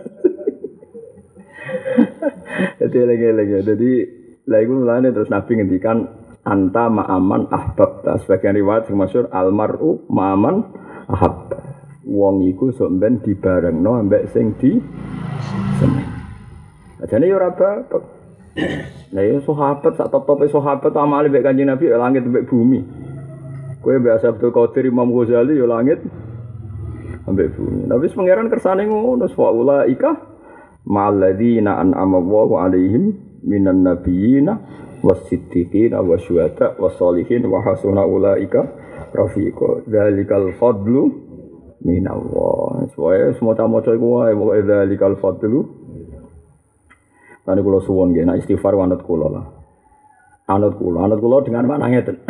[SPEAKER 2] Jadi lha iku mulane terus Nabi ngendikan anta ma'aman ahbab. Sebagian riwayat sing masyhur almaru ma'aman ahab. Wong iku sok ben dibarengno ambek sing di seneng. Ajane yo ora bapak. Nah ya sahabat sak top-tope sahabat amale mek Kanjeng Nabi ya langit mek bumi. Kowe biasa Abdul Qadir Imam Ghazali ya langit ambek bumi. Tapi pangeran kersane ngono wa ika ma'alladzina an'ama Allahu 'alaihim minan nabiyina was-siddiqina wasyuhada was-sholihin wa hasuna ulaika rafiqa. Dzalikal fadlu minallah. Semua maca iku wae wa dzalikal fadlu. Tadi kula suwon nggih, nek istighfar wanut kula lah. Anut kula dengan makna ngeten.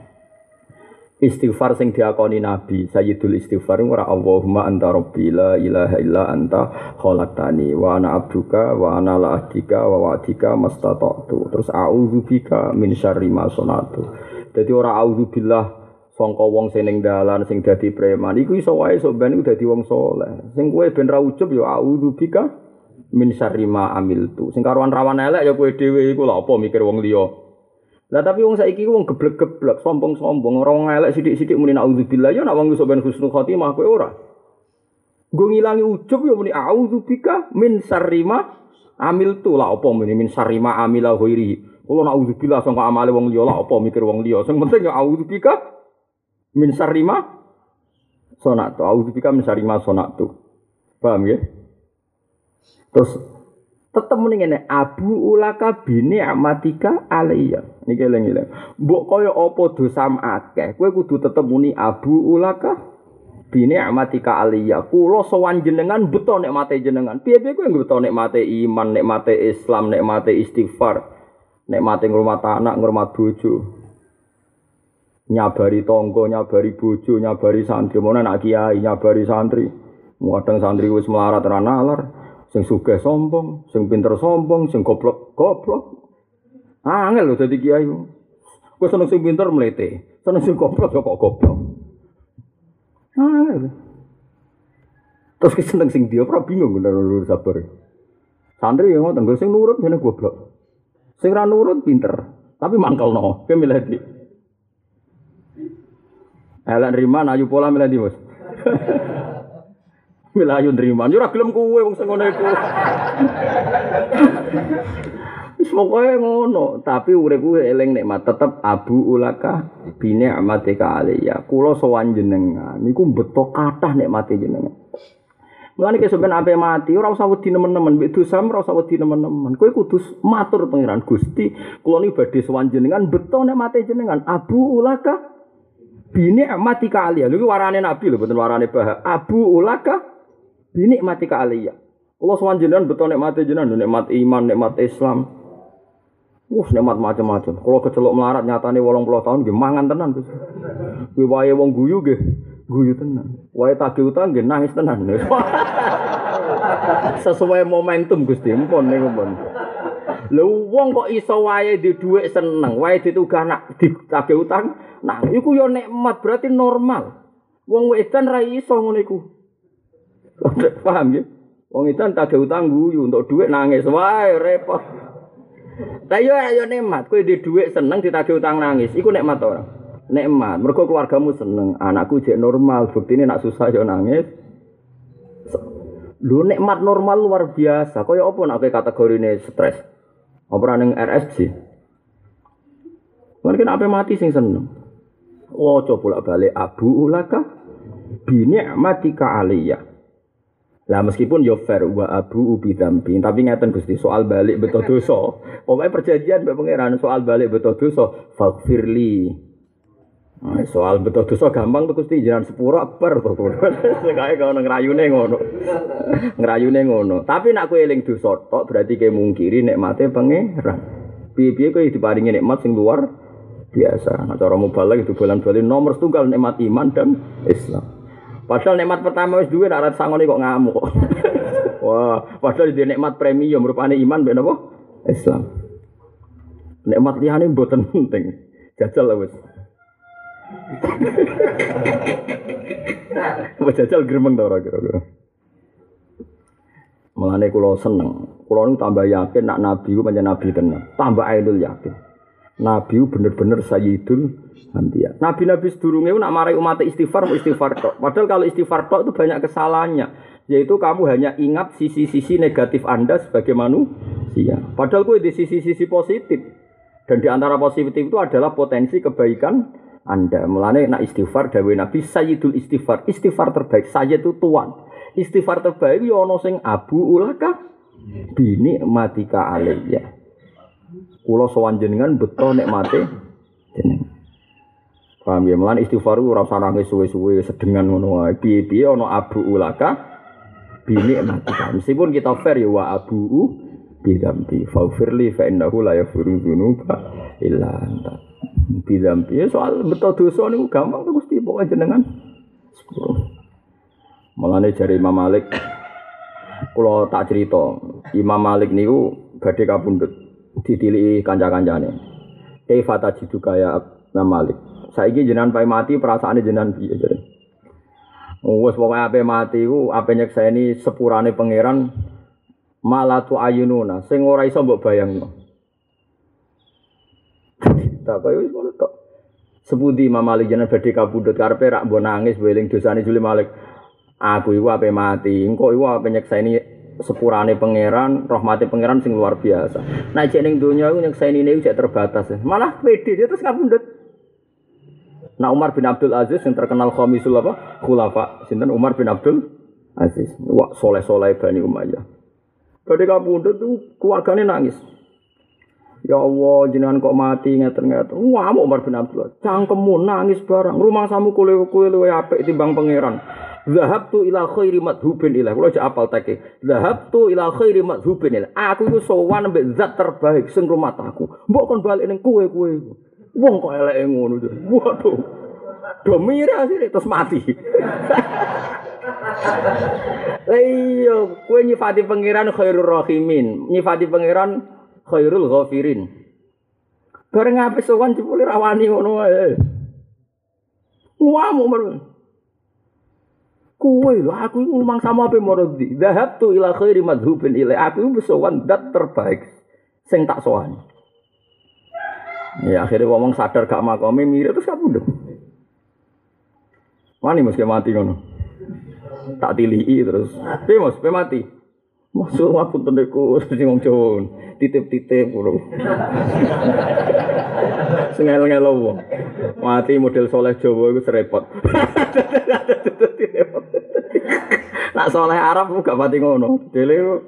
[SPEAKER 2] Istighfar sing diakoni Nabi, Sayyidul Istighfar ora Allahumma anta rabbi la ilaha illa anta khalaqtani wa ana abduka wa ana la ahdika wa wa'dika mastata'tu. Terus a'udzubika min syarri ma sanatu. Dadi ora a'udzubillah sangka wong sing ning dalan sing dadi preman iku iso wae sok ben iku dadi wong saleh. Sing kowe ben ra ujub ya a'udzubika min syarri ma amiltu. Sing karuan rawan elek ya kowe dhewe iku lha apa mikir wong liya. Lah tapi wong saiki wong geblek-geblek, sombong-sombong, ora wong elek sithik-sithik muni auzubillah ya nek wong iso ben husnul khotimah kowe ora. Nggo ngilangi ujub ya muni auzubika min syarri ma amiltu. Lah apa muni min syarri ma amila ghairi. Kulo nek auzubillah sangka amale wong liya lah apa mikir wong liya. Sing penting ya auzubika min syarri ma sonatu. Auzubika min syarri ma sonatu. Paham ya? Terus tetep muni ngene abu ulaka bini amatika alayya niki eling-eling mbok kaya apa dosam akeh kowe kudu tetep muni abu ulaka bini amatika alayya kula sowan jenengan beto nikmate jenengan piye-piye kowe beto nikmate iman nikmate Islam nikmate istighfar nikmate ngrumat anak ngrumat bojo nyabari tangga nyabari bojo nyabari santri mono anak kiai nyabari santri kadang santri wis melarat ora nalar sing sugih sombong, sing pinter sombong, sing goblok. Angel lho dadi kiai. Kowe seneng sing pinter mlete, seneng sing goblok kok goblok. Angel. Terus ki seneng sing dia ora bingung bener sabar. Santri yang ngoten, sing nurut jenenge goblok. Sing ra nurut pinter, tapi mangkelno. Kowe milih ndi? Elek nrima ayu pola milih ndi, Mas? Milayu nriman yo ora gelem kowe wong sing ngono iku. Wis pokoke ngono, tapi uripku eling nikmat tetep abu ulaka bine amatika alayya. Kula sowan jenengan niku beto kathah nikmate jenengan. Mulane kesuk ben ape mati ora usah wedi nemen-nemen, mbek dosa ora usah wedi nemen-nemen. Kowe kudu matur pangeran Gusti, kula niki badhe sowan jenengan beto nikmate jenengan. Abu ulaka bine amatika alayya. Lha iki warane Nabi lho, mboten warane Bah. Abu ulaka ini nikmati ka aliyah. Allah sowan jenengan beto nikmate jenengan, nikmat iman, nikmat Islam. Nikmat macam-macam. Kalau kecelok melarat nyatane 80 tahun nggih mangan tenan Gus. Kuwi wae wong guyu nggih, guyu tenan. Wae tagih utang nggih nangis tenan. Sesuai momentum Gusti, mpun niku pun. Lha wong kok iso wae di dhuwit seneng, wae ditugah nak ditagih utang, nah iku yo nikmat berarti normal. Wong wedan ra iso ngono iku. Paham ya? Wong itu tak ada utang guyu untuk duit nangis, wah repot. Lah yo ayo nikmat, kowe di duit seneng ditagih utang nangis, iku nikmat ora? nikmat. Mergo keluargamu seneng, anakku jek normal, buktine nak susah yo nangis. Lho nikmat normal luar biasa. Kaya apa nek kategorine stres? Apa ning RSJ? Mungkin ape mati sing seneng. Oh, coba bolak-balik abu ulaka bi ni'matika aliyya. Lah meskipun yo fair wa abu ubi dzambi, tapi ngeten Gusti soal balik beto dosa. Pokoke perjanjian mbek pangeran soal balik beto dosa, faghfirli. Nah, soal beto dosa gampang tuh Gusti jenengan sepuro akbar to. Sekae kono ngrayune ngono. Ngrayune ngono. Tapi nek kowe eling dosa tok berarti kowe mungkiri nikmate pangeran. Piye-piye kowe diparingi nikmat sing luar biasa. Nah, cara mubalagh itu bulan-bulan nomor setunggal nikmat iman dan Islam. Padahal nikmat pertama wis duwe nek ora sangone kok ngamuk. Wah, padahal duwe nikmat premium rupane iman mbek napa? Islam. Nikmat liyane mboten penting. Jajal wis. Wis jajal gremeng ta ora kira-kira. Mulane kula seneng. Kula niku tambah yakin nek nabi ku pancen nabi tenan. Tambah ainul yakin. Nabi bener-bener sayyidul anbiya. Nabi-nabi sedurunge nak marai umat istighfar tok. Padahal kalau istighfar tok itu banyak kesalahannya. Yaitu kamu hanya ingat sisi-sisi negatif Anda sebagai manusia. Padahal kowe di sisi-sisi positif. Dan di antara positif itu adalah potensi kebaikan Anda. Mulane nak istighfar dawuh Nabi sayyidul istighfar. Istighfar terbaik sayyid itu tuan. Istighfar terbaik yo ana sing abu ulaka bini matika alayya. Kula sowan jenengan beto nikmate jenengan. Paham ya, mulane istighfar ora usah nangis suwe-suwe sedengan ngono wae. Piye-piye ana abu ulaka bini matika. Meskipun kita fair ya wa abu bidambi faghfirli fa innahu la yaghfiru dzunuba illa anta. Bidambi soal beto dosa niku gampang to Gusti pokoke jenengan sepuro. Mulane jare Imam Malik kula tak cerita, Imam Malik niku badhe kapundhut ditiliki kanca-kancane. Kaifa tajidu kaya Imam Malik. Saiki jenengan pae mati perasaane jenengan piye jare. Wes pokoke ape mati ku ape nyekseni sepurane pangeran malatu ayununa sing ora iso mbok bayangno. Tak kaya wis ngono tok. Sepundi Imam Malik jenengan badhe kapundhut karepe rak mbok nangis weling dosane Juli Malik. Aku iku ape mati, engko iku ape nyekseni sepurane pangeran, rahmate pangeran sing luar biasa. Nek jek ning donya iku nyekseni niku jek terbatas. Malah pede dia terus kapundhut. Nah Umar bin Abdul Aziz yang terkenal khamisul apa? Khulafa. Sinten Umar bin Abdul Aziz. Wah, soleh-soleh Bani Umayyah. Badhe kapundhut tuh keluargane nangis. Ya Allah, jenengan kok mati ngeten-ngeten. Wah, Umar bin Abdul Aziz. Cangkemmu nangis barang. Rumangsamu kowe luwe apik timbang pangeran. Zahabtu ila khairi madhubin ilah. Kula aja apal teke. Zahabtu ila khairi madhubin ilah. Aku iku sowan mbek zat terbaik sing rumataku. Mbok kon bali ning kowe. Wong kok eleke ngono. Waduh. Do mira sih terus mati. Lah iya, kowe nyifati pangeran khairur rahimin, nyifati pangeran khairul ghafirin. Bareng ape sowan jebule rawani ngono wae. Wah, umur. Kowe lho aku iku mangsamu ape marodi. Zahabtu ila khairi madhubin ila. Aku iku sowan zat terbaik sing tak sowan. Ya akhirnya ngomong sadar gak makome mirip terus kapundhut. Wani mesti mati ngono. Tak tilii terus. Piye Mas, pe mati. Masuk aku teneku sing wong Jawa. Titip-titip bro. Sengel-ngelo wong. Mati model soleh Jawa iku serepot. Nak soleh Arab gak pati ngono. Dele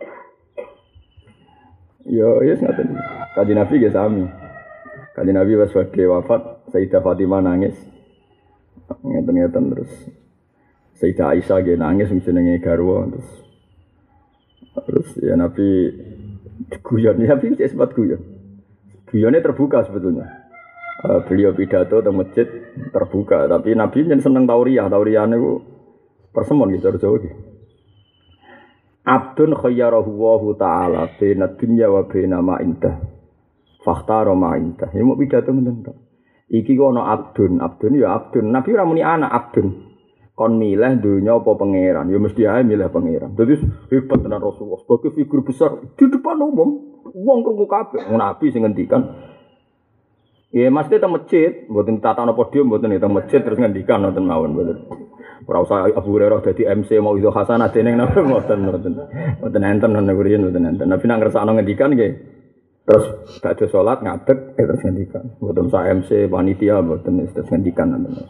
[SPEAKER 2] yo yes ngaten. Kanjeng Nabi ge sami. Kanjeng Nabi pas badhe wafat, Sayyidah Fatimah nangis. Ngeten-ngeten terus. Sayyidah Aisyah ge nangis jenenge garwa terus ya Nabi guyon, Nabi cek sempat guyon. Guyonnya terbuka sebetulnya. Beliau pidato di masjid terbuka, tapi Nabi jen seneng tauriyah niku persemon gitu Jawa iki. Abdun khayyarahu wa ta'ala baina dunya wa baina ma indah. Fakhtara ma indah. Ya mau pidato ngeten tok. Iki ku ana abdun ya abdun. Nabi ora muni anak abdun. Kon milih dunya apa pangeran, ya mesti ae milih pangeran. Dadi hebat tenan Rasulullah sebagai figur besar di depan umum, wong krungu kabeh. Nabi sing ngendikan Ya mesti teng masjid, mboten tatana podium mboten teng masjid terus ngendikan nonton mawon mboten. Ora usah Abu Hurairah dadi MC mau itu hasanah dene mboten. Mboten enten nang ngriyen mboten enten. Nabi nang ngersakno ngendikan nggih. Terus badhe salat ngadeg terus ngendikan. Mboten sak MC panitia mboten terus ngendikan nonton.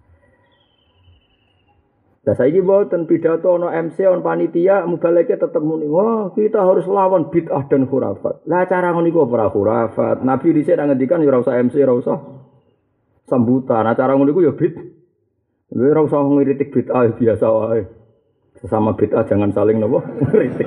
[SPEAKER 2] Lah saiki mboten pidato ana MC on panitia mubaleke tetep muni, wah kita harus lawan bid'ah dan khurafat. Lah cara ngono iku ora khurafat. Nabi dhisik nang ngendikan ya ora usah MC, ora usah sambutan. Nah cara ngono iku ya ora usah ngiritik bid'ah biasa wae. Sesama bid'ah jangan saling napa ngiritik.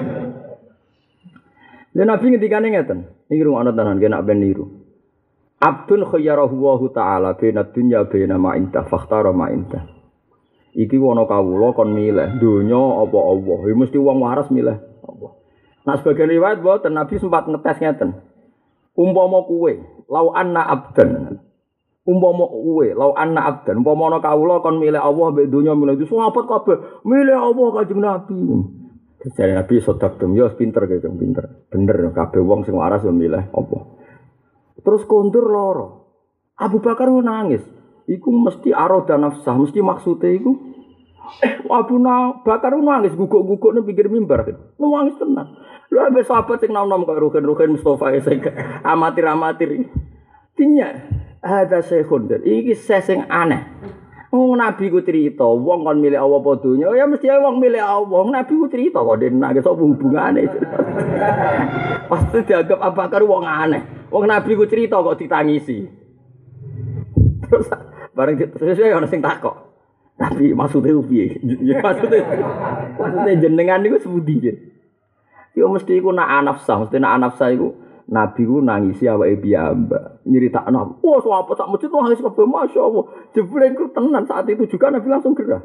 [SPEAKER 2] Lah Nabi ngendikane ngeten. Iki rungokno tenan kena ben niru. Abdun khayyarahu wa ta'ala baina dunya baina ma inta fakhtara ma inta. Iki ana kawula kon milih donya apa Allah. Ya mesti wong waras milih Allah. Nah sebagian riwayat mboten Nabi sempat ngetes ngeten. Umpama kuwe, lau anna abdan. Umpama ana kawula kon milih Allah mbek donya milih itu sahabat kabeh milih Allah Kanjeng Nabi. Jadi Nabi sodakdum ya pinter gitu, pinter. Bener kabeh wong sing waras yo milih Allah. Terus kondur loro. Abu Bakar nangis. Iku mesti aroda nafsah, mesti maksudnya iku Abu Bakar nangis guguk-guguk nang pinggir mimbar. Nangis tenan. Lha ambek sahabat sing nom-nom karo Ruhin Mustofa sing amatir-amatir. Tinya ada sehun. Iki sing aneh. Wong Nabi ku crita, wong kon milih Allah apa donya, ya mesti wong milih Allah. Nabi ku crita kok nangis apa hubungane. Pasti dianggap Abu Bakar wong aneh. Wong Nabi ku crita kok ditangisi. Terus bareng sesuai ana sing takok. Tapi maksudnya piye? Maksudnya jenengan niku sepundi nggih? Yo mesti iku nak anafsah, mesti nak anafsah iku Nabi ku nangisi awake piyambak. Nyeritakno, wah sahabat sak masjid nangis kabeh masyaallah. Jebule iku tenan saat itu juga Nabi langsung gerah.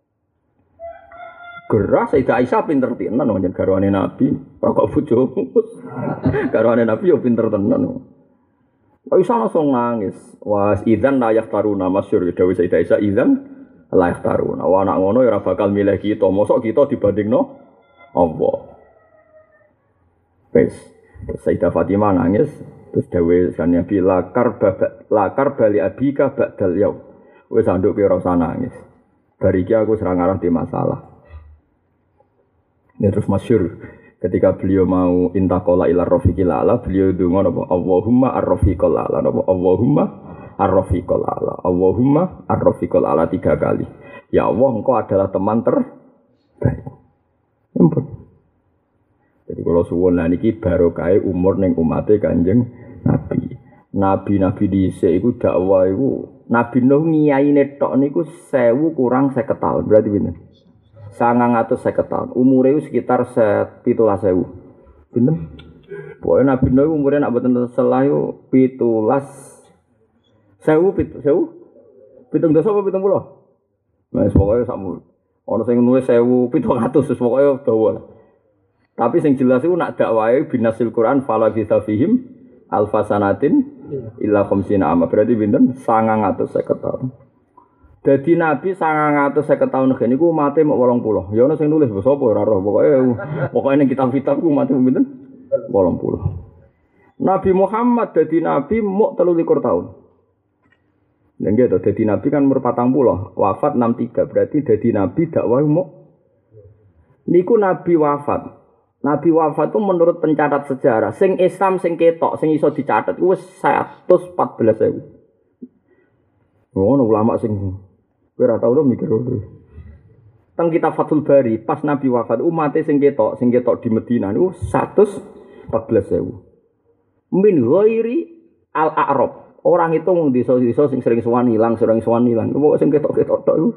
[SPEAKER 2] Gerah Sayyidah Aisyah pinter tenan njen garwane Nabi, kok bojomu. Garwane Nabi yo pinter tenan. Aisyah langsung nangis. Wah, idzan la yaftaruna masyhur dawuh Sayyidah Aisyah idzan la yaftaruna. Wah anak ngono ya ora bakal milih kita. Mosok kita dibandingno Allah. Wes, Sayyidah Fatimah nangis terus dawuh kan Nabi lakar bali abika ba'dal yaum. Wes anduk ki ora usah nangis. Bariki aku serang arah di masalah. Ini terus masyhur ketika beliau mau intakola ila rafiqil ala, beliau ndonga napa Allahumma ar-rafiqil ala, napa Allahumma ar-rafiqil ala, Allahumma ar-rafiqil ala 3 kali. Ya Allah, engkau adalah teman terbaik. Ampun. Jadi kalau suwun lah niki barokah umur ning umate Kanjeng Nabi. Nabi-nabi dhisik iku dakwah iku Nabi Nuh ngiyaine tok niku 1000 kurang 50 tahun. Berarti pinten? 950 tahun. Umure sekitar 17.000. Pinten? Pokoke Nabi Nuh umure nak boten selah yo 17.000 dosa apa 70? Wes pokoke sakmu. Ana sing nulis 1700 pokoke dawa. Tapi sing jelas iku nak dakwahe binasil Quran fala bisafihim alfasanatin illa khamsina ama. Berarti pinten? 950 tahun. Dadi Nabi 950 tahun ngene iku mate mok 80. Ya ana sing nulis sapa ora roh. Pokoke ning kitab-kitab ku mate pinten? 80. Nabi Muhammad dadi nabi mok 23 tahun. Lha nggih to dadi nabi kan umur 40, wafat 63. Berarti dadi nabi dakwah mok niku nabi wafat. Nabi wafat itu menurut pencatat sejarah sing Islam sing ketok sing iso dicatat wis 114.000. Ngono ulama sing kowe ora tau lho mikir ngono. Teng kitab Fathul Bari pas Nabi wafat umat sing ketok di Madinah niku 114.000. Min ghairi al-a'rab. Orang itu wong desa-desa sing sering sowan ilang. Pokoke sing ketok-ketok tok iku.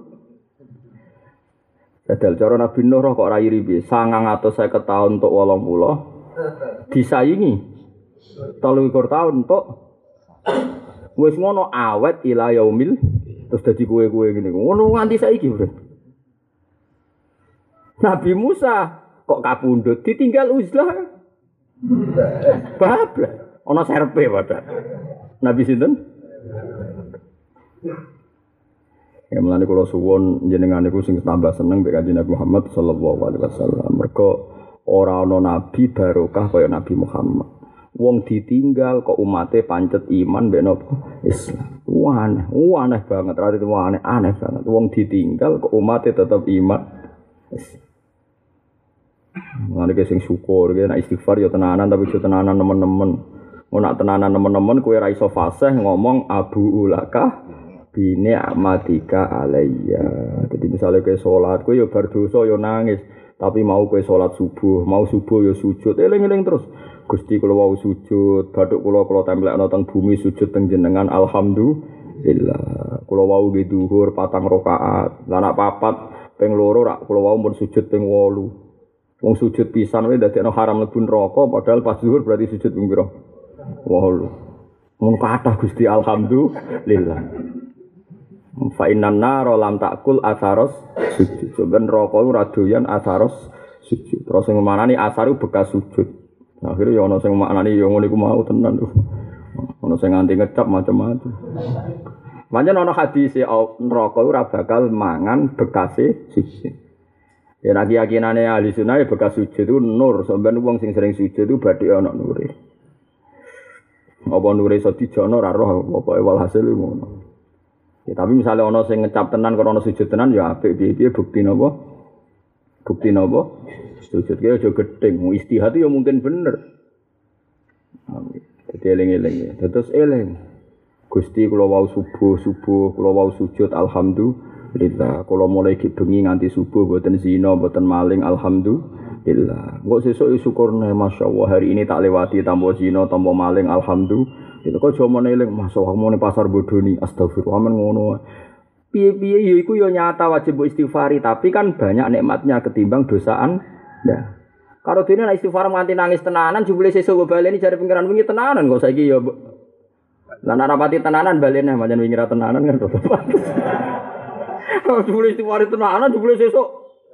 [SPEAKER 2] Dadal cara Nabi Nuh kok ora iri piye? 950 tahun untuk 80 disaingi 23 tahun untuk wis ngono awet ila yaumil terus dadi kowe-kowe ngene. Ngono nganti saiki, Bro. Nabi Musa kok kapundhut ditinggal uzlah. Bablas. Ana serpe padha. Nabi sinten? Ya mulane kula suwun jenengan niku sing tambah seneng mek Kanjeng Nabi Muhammad sallallahu alaihi wasallam. Mergo ora ana nabi barokah kaya Nabi Muhammad. Wong ditinggal kok umate pancet iman mbek napa Islam. Aneh banget, rada itu aneh banget. Wong ditinggal kok umate tetep iman. Ngene ki sing syukur ki nek istighfar ya tenanan tapi aja tenanan nemen-nemen. Nek tenanan nemen-nemen kowe ra iso fasih ngomong abu ulaka bini amatika alayya. Jadi misalnya kowe salat kowe ya bar dosa ya nangis, tapi mau kowe salat subuh, mau subuh ya sujud, eling-eling terus. Gusti kula wau sujud, bathuk kula templekno teng bumi sujud teng jenengan alhamdulillah. Kula wau nggih zuhur 4 rakaat. Lah nek 4 ping 2 rak kula wau mun sujud ping 8. Wong sujud pisan wae dadekno haram mlebu neraka padahal pas zuhur berarti sujud ping pira? 8. Mun kathah Gusti alhamdulillah. Fa innan nar lam takul asaros sujud. Sampeyan neraka ora doyan asaros sujud. Terus sing manani asar bekas sujud. Akhirnya ya ana sing maknani ya ngono iku mau tenan lho. Ana sing nganti ngecap macam-macam. Pancen ana hadis neraka ora bakal mangan bekase sujud. Ya nek keyakinane ahli sunah bekas sujud itu nur, sampeyan wong sing sering sujud itu badhe ana nure. Apa nure iso dijono ora roh pokoke walhasil ngono. Ya tapi misalnya ana sing ngecap tenan karo ana sujud tenan ya apik piye-piye bukti napa? Bukti napa? Sujud ki aja gedeng, istihad ya mungkin bener. Dadi eling-eling ya. Terus eling. Gusti kula wau subuh, kula wau sujud alhamdulillah. Kula mulai bengi nganti subuh mboten zina, mboten maling alhamdulillah. Engko sesuk syukurne masyaallah hari ini tak lewati tanpa zina, tanpa maling alhamdulillah. Itu kok jomone eling masyaallah mone pasar bodoni astagfirullah men ngono. Piye-piye ya iku ya nyata wajib istighfari, tapi kan banyak nikmatnya ketimbang dosaan. Nah, kalau dene nek istighfar nganti nangis tenanan jebule sesuk baleni jare pengiran wingi tenanan kok saiki ya. Lah nek rapati tenanan balene pancen wingi ra tenanan kan to. Jebule istighfar tenanan jebule sesuk.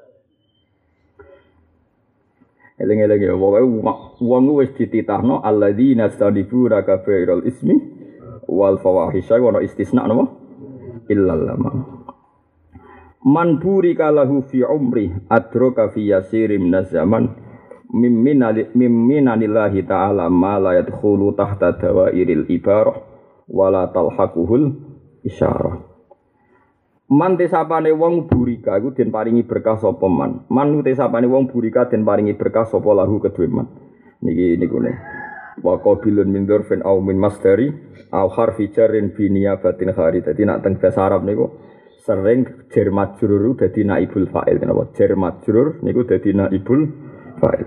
[SPEAKER 2] Eling-eling ya pokoke wong wis dititahno alladzina stadifura kafiral ismi wal fawahisha wa istisna napa illal lama. Man burika lahu fi umri adraka fi yasirim minaz zaman mimminanillahi ta'ala ma la yadkhulu tahta dawairil ibarah wala talhaquhul isyarah. Man tesapane wong burika iku den paringi berkah sapa man. Man tesapane wong burika den paringi berkah sapa lahu kedue man. Niku ne. Wa qabilun min dzarfin aw min masdari aw harfi jarrin bi niyabatin khari. Dadi nek teng bahasa Arab niku sering jar majrur dadi naibul fa'il kenapa jar majrur niku dadi naibul fa'il.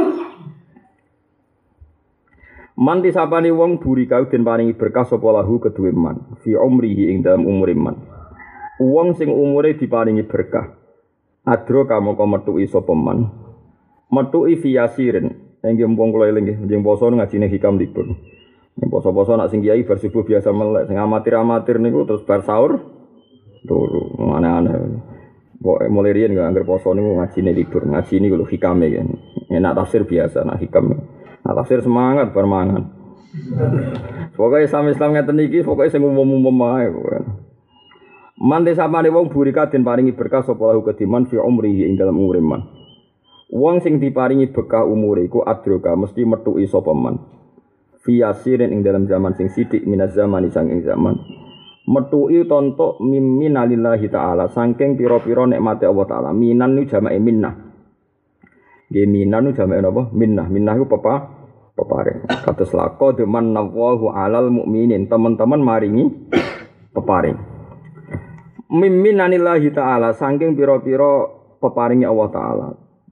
[SPEAKER 2] Man disapani wong burika den paringi berkah sapa lahu kedue man fi umrihi ing dalam umure man. Wong sing umure diparingi berkah adro kamu kok metuki sapa man metuki fi yasirin nggih mumpung kula eling nggih njeng poso ngajine hikam libur. Nek poso-poso nak sing kiai bar subuh biasa melek sing amatir-amatir niku terus bar sahur turu aneh-aneh. Pokoke mulai riyen gak anggere poso niku ngajine libur, ngaji niku lho hikame kan. Enak tafsir biasa, nak hikam. Nak tafsir semangat permangan. Pokoke Islam ngeten iki pokoke sing umum-umum ae pokoke. Man desapane wong burika den paringi berkah sapa lahu kediman fi umrihi ing dalam umure man. Wong sing diparingi berkah umure iku adroka mesti metuki sapa man. Fi yasirin ing dalam zaman sing sithik minaz zamani sanging zaman. Metuki tontok minalillahi ta'ala saking pira-pira nikmate Allah taala. Minan nu jamake minnah. Nggih minan nu jamake napa? Minnah. Minnah iku peparing. Kados laqad manallahu 'alal mukminin. Teman-teman maringi peparing. Minanillahi ta'ala saking pira-pira peparingi Allah taala.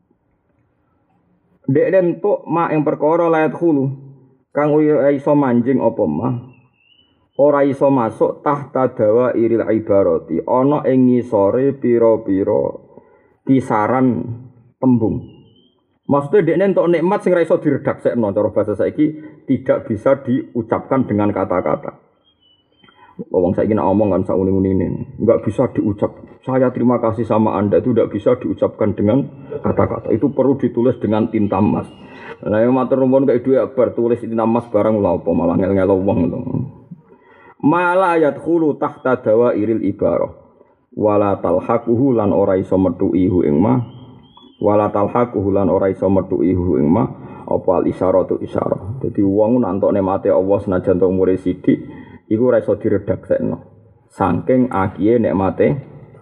[SPEAKER 2] Dek entuk mak ing perkara layat khulu kang iso manjing apa mah. Ora iso masuk tahta dawa iril ibarati ana ing ngisore pira-pira kisaran tembung. Maksudnya dekne entuk nikmat sing ora iso diredaksekno cara bahasa saiki tidak bisa diucapkan dengan kata-kata. Wong saiki nek omong kan sauni-unine enggak bisa diucap. Saya terima kasih sama Anda itu tidak bisa diucapkan dengan kata-kata. Itu perlu ditulis dengan tinta emas. Lah yang matur nuwun kaya dhuwit akbar tulis tinta emas barang lha apa malah ngel-ngel wong to. Mala yadkhulu tahta dawairil ibarah wala talhaquhu lan ora iso metuki hu ing ma wala talhaquhu lan ora iso metuki hu ing ma apa al isyaratu isyarah. Dadi wong nantok nikmate Allah senajan tok umure sithik iku ora iso diredaksekno. Saking akiye nikmate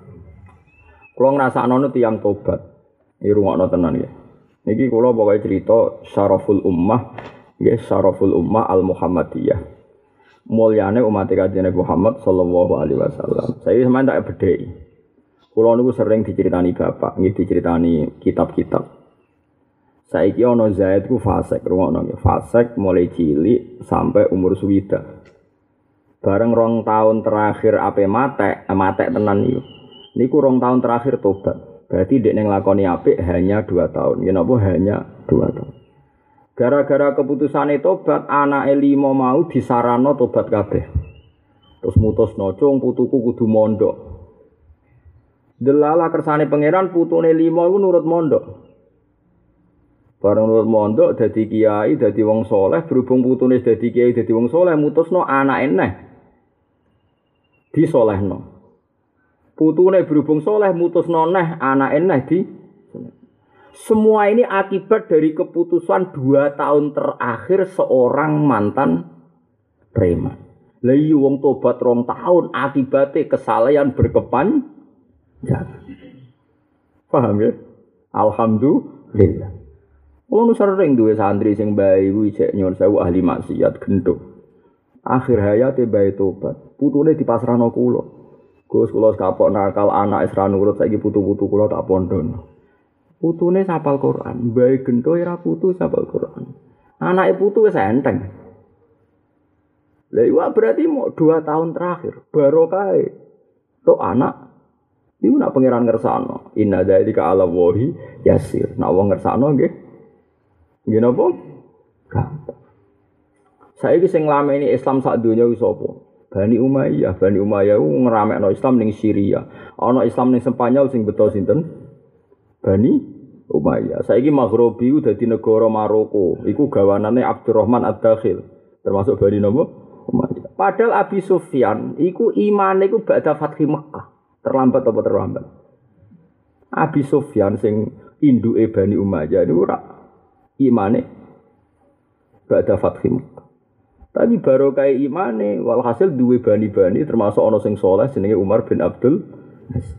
[SPEAKER 2] kula ngrasakno tiyang tobat. Iki rungokno tenan ya. Niki kula pokoke cerita syaraful ummah, nggih syaraful ummah al Muhammadiyah. Mulyane umat Kanjeng Muhammad sallallahu alaihi wasallam. Saya sampeyan tak bedheki. Kula niku sering diceritani bapak, nggih diceritani kitab-kitab. Saiki ana Zaid ku fasik, rungokno nggih. Fasik mulai cilik sampai umur suwida. Bareng 2 tahun terakhir ape matek tenan niku. Niku 2 tahun terakhir tobat. Berarti dekne nglakoni apik hanya 2 tahun. Ya napa hanya 2 tahun. Gara-gara keputusane tobat, anake 5 mau disarano tobat kabeh. Terus mutusno cung putuku kudu mondok. Delala kersane pangeran putune 5 iku nurut mondok. Bareng nurut mondok dadi kiai, dadi wong saleh, berhubung putune dadi kiai, dadi wong saleh, mutusno anake neh disolehno. Putune berhubung saleh mutusno neh anake neh di. Semua ini akibat dari keputusan 2 tahun terakhir seorang mantan preman. Lah iya wong tobat 2 tahun akibatnya kesalahan berkepanjangan. Paham ya? Alhamdulillah. Wong sering duwe santri sing bae kuwi cek nyon sewu ahli maksiat gendho. Akhir hayate bae tobat. Putune dipasrahno kula. Gus kula kapok nakal anak isra nurut saiki putu-putu kula tak pondhono. Putune sapal Quran, bae gendho ora putu sapal Quran. Anake putu wis enteng. Lah iya berarti mau 2 tahun terakhir barokah tok anak iku nak pangeran ngersakno. Inna dzalika 'ala wahi yasir. Nak wong ngersakno nggih. Nggih napa? Gampang. Saiki sing nglameni Islam sak donya wis sapa? Bani Umayyah. Bani Umayyah ku ngeramekno Islam ning Syria. Ana Islam ning Spanyol sing beto sinten? Bani Umayyah. Saiki Maghribi ku dadi negara Maroko. Iku gawanane Abdurrahman Ad-Dakhil. Termasuk Bani napa? Umayyah. Padahal Abi Sufyan iku imane iku ba'da Fathi Mekkah. Terlambat apa terlambat? Abi Sufyan sing induke Bani Umayyah niku ora imane ba'da Fathi Mekkah. Tapi barokah imane walhasil duwe bani-bani termasuk ana sing saleh jenenge Umar bin Abdul Aziz.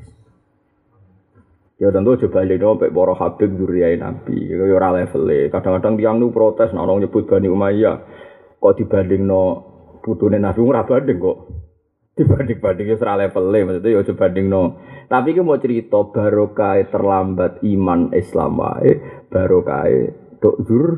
[SPEAKER 2] Ya tentu coba lihat sampai para Habib Dzurriyyah Nabi. Ya ora levele. Kadang-kadang tiyang nu protes nek ono nyebut Bani Umayyah kok dibandingno putune Nabi ora banding kok. Dibanding-banding ora levele maksudnya ya coba bandingno. Tapi ki mau cerita barokah terlambat iman Islam wae, barokah tok dzur.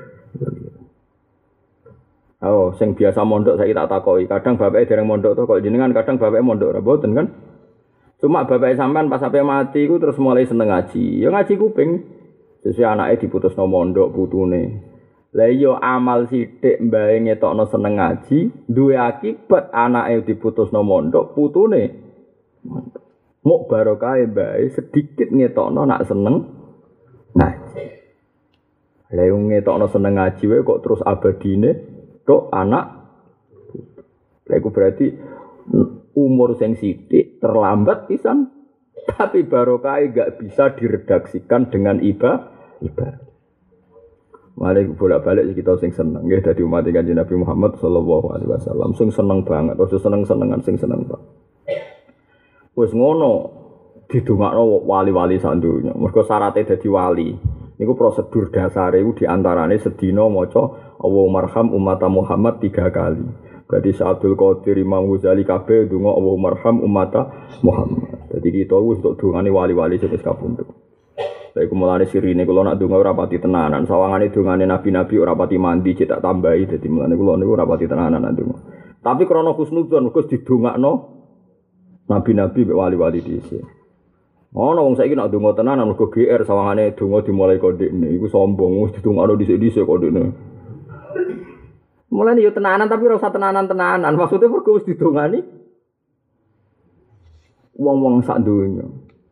[SPEAKER 2] Oh, sing biasa mondok saiki tak takoki. Kadang bapake dereng mondok to kok jenengan kadang bapake mondok ora mboten kan? Cuma bapak sampean pas sampai mati ku terus mulai seneng ngaji. Ya ngaji kuping. Sesuai anake diputusno mondok putune. Lah iya amal sithik mbae ngetokno seneng ngaji, duwe akibat anake diputusno mondok putune. Mok barokah mbae sedikit ngetokno nak seneng ngaji. Lah yo ngetokno seneng ngaji wae kok terus abadine tok anak. Lah iku berarti umur sing sithik terlambat pisan, tapi barokah enggak bisa diredaksikan dengan ibadah. Mari bolak-balik kita sing seneng nggih dadi umat Kanjeng Nabi Muhammad sallallahu alaihi wasallam sing seneng banget, aja seneng-senengan sing seneng banget. Wis ngono didongakno wali-wali sak donya. Mergo syaraté dadi wali. Niku prosedur dasare iku diantarane sedina maca Allahumma arham umat Muhammad 3 kali. Berarti Abdul Qadir Imam Ghazali kabeh donga Allahumma arham ummata Muhammad. Dadi kita wis untuk dongane wali-wali sing wis kapundhut. Lha iku mulane sirine kula nak donga ora pati tenanan. Sawangane dongane nabi-nabi ora pati mandi cetak tambahi dadi mulane kula niku ora pati tenanan donga. Tapi krana husnudzon wis didongakno nabi-nabi mek wali-wali dhisik. Ana wong saiki nak donga tenanan mergo GR sawangane donga dimulai kondekne iku sombong wis didongakno dhisik-dhisik kondekne. Mulane yo tenanan tapi ora usah tenanan-tenanan. Maksudnya mergo wis didongani wong-wong sak donya.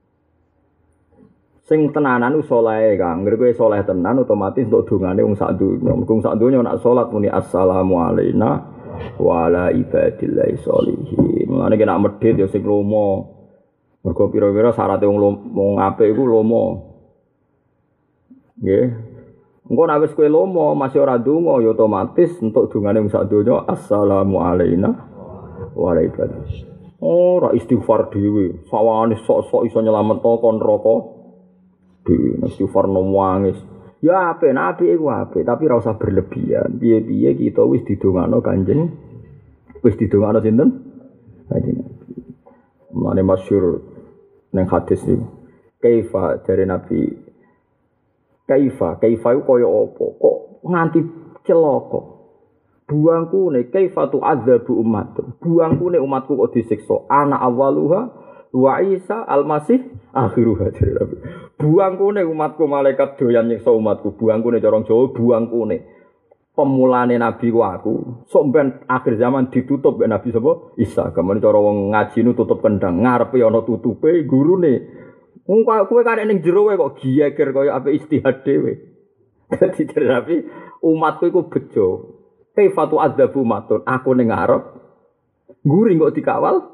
[SPEAKER 2] Sing tenanan ku saleh Kang. Ngger kowe saleh tenan otomatis untuk dongane wong sak donya. Mergo sak donya nek salat muni assalamu alayna wa ala ibadillahi sholihin. Mulane nek medhit yo sing lomo. Mergo pira-pira syaraté wong apik iku lomo. Nggih. Engko nek wis kowe lomo masih ora ndonga ya otomatis entuk dungane wong sak donya assalamu alaina wa alaikum. Ora istighfar dhewe, sawane sok-sok iso nyelametno kon neraka. Dhewe istighfar nangis. Ya apik, apik iku apik, tapi ora usah berlebihan. Piye-piye kita wis didongakno Kanjeng. Wis didongakno sinten? Kanjeng. Mane masyhur ning hadis iki. Kaifa dari Nabi Kaifa iku kaya apa? Kok nganti celaka? Buangku ne kaifa tu'adzabu ummatku. Buangku ne umatku kok disiksa. Ana awaluha wa Isa al-Masih akhiruha. Buangku ne umatku malaikat doyan nyiksa umatku. Buangku ne cara Jawa buangku ne. Pemulane nabi ku aku. Sok ben akhir zaman ditutup ben nabi sapa? Isa. Gamane cara wong ngaji nu tutup kendang, ngarepe ana tutupe gurune. Wong kowe karek ning jero kok giyeger kaya ape istihad dhewe. Dadi terapi umatku iku bejo. Kaifatu adzabu matun aku ning ngarep nguri kok dikawal.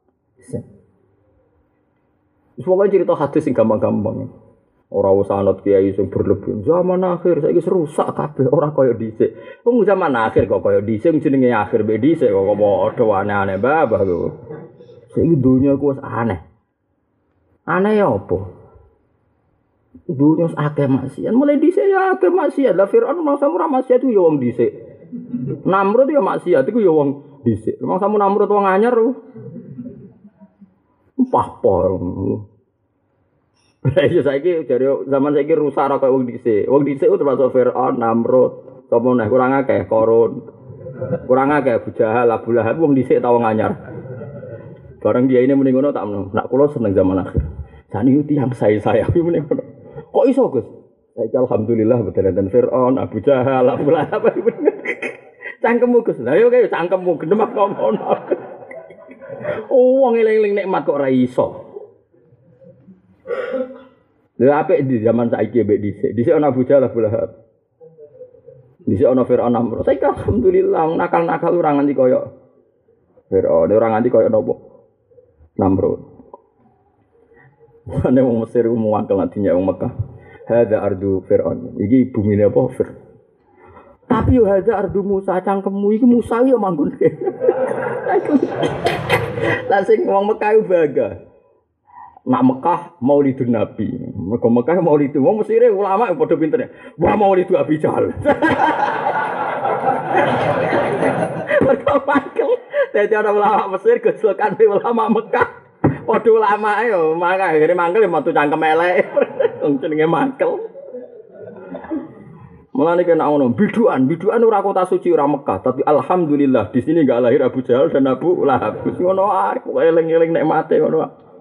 [SPEAKER 2] Semoga cerita hadis sing gampang-gampang. Ora usah anut kiai sing berlebihan. Zaman akhir saiki rusak kabeh ora kaya dhisik. Wong zaman akhir kok kaya dhisik jenenge akhir mbek dhisik kok padha aneh-aneh babah kok. Saiki dunya ku wis aneh. Aneh ya apa? Dunia akeh maksiat, mulai dhisik ya akeh maksiat. Lah Firaun mangsa ora maksiat ku ya wong dhisik. Namrud ya maksiat iku ya wong dhisik. Mangsa Namrud wong anyar. Pahpor. Lah iya saiki jare zaman saiki rusak ora kaya wong dhisik. Wong dhisik ku termasuk Firaun, Namrud, sapa meneh kurang akeh Korun. Kurang akeh Abu Jahal, Abu Lahab wong dhisik ta wong anyar. Barang dia ini mending ngono tak meno. Nak kula seneng zaman akhir. Sani tiyang saya kuwi mending ngono. Kok iso, Gus? Saiki alhamdulillah bedalan Firaun, Abu Jahal, Abu Lahab. Cangkemmu Gus. Lah yo kaya cangkemmu gendem kok ngono. Wong eling-eling nikmat kok ora iso. Lha apik di zaman saiki mbek dhisik. Dhisik ana Abu Jahal, Abu Lahab. Dhisik ana Firaun, Namrud. Saiki alhamdulillah nakal-nakal ora nganti kaya Firaun, ora nganti kaya napa? Namrud. Ane wong Mesir ku muangkel nantinya wong Mekah. Hadza ardu Fir'aun. Iki bumine apa Fir. Tapi yo hadza ardu Musa cangkemmu iki Musa yo manggon. Lah sing wong Mekah ku bangga. Nak Mekah Maulidun Nabi. Mergo Mekah Maulid wong Mesir ulama padha pintere. Wah Maulid Abi Jahal. Mergo mangkel. Dadi ana ulama Mesir gojlokan ulama Mekah. Padha ulama yo mangkel akhire mangkel metu cangkem elek. Wong jenenge mangkel. Mulane kena ngono, biduan ora kota suci ora Mekah, tapi alhamdulillah di sini enggak lahir Abu Jahal dan Abu Lahab. Ngono ae, kok eling-eling nikmate ngono.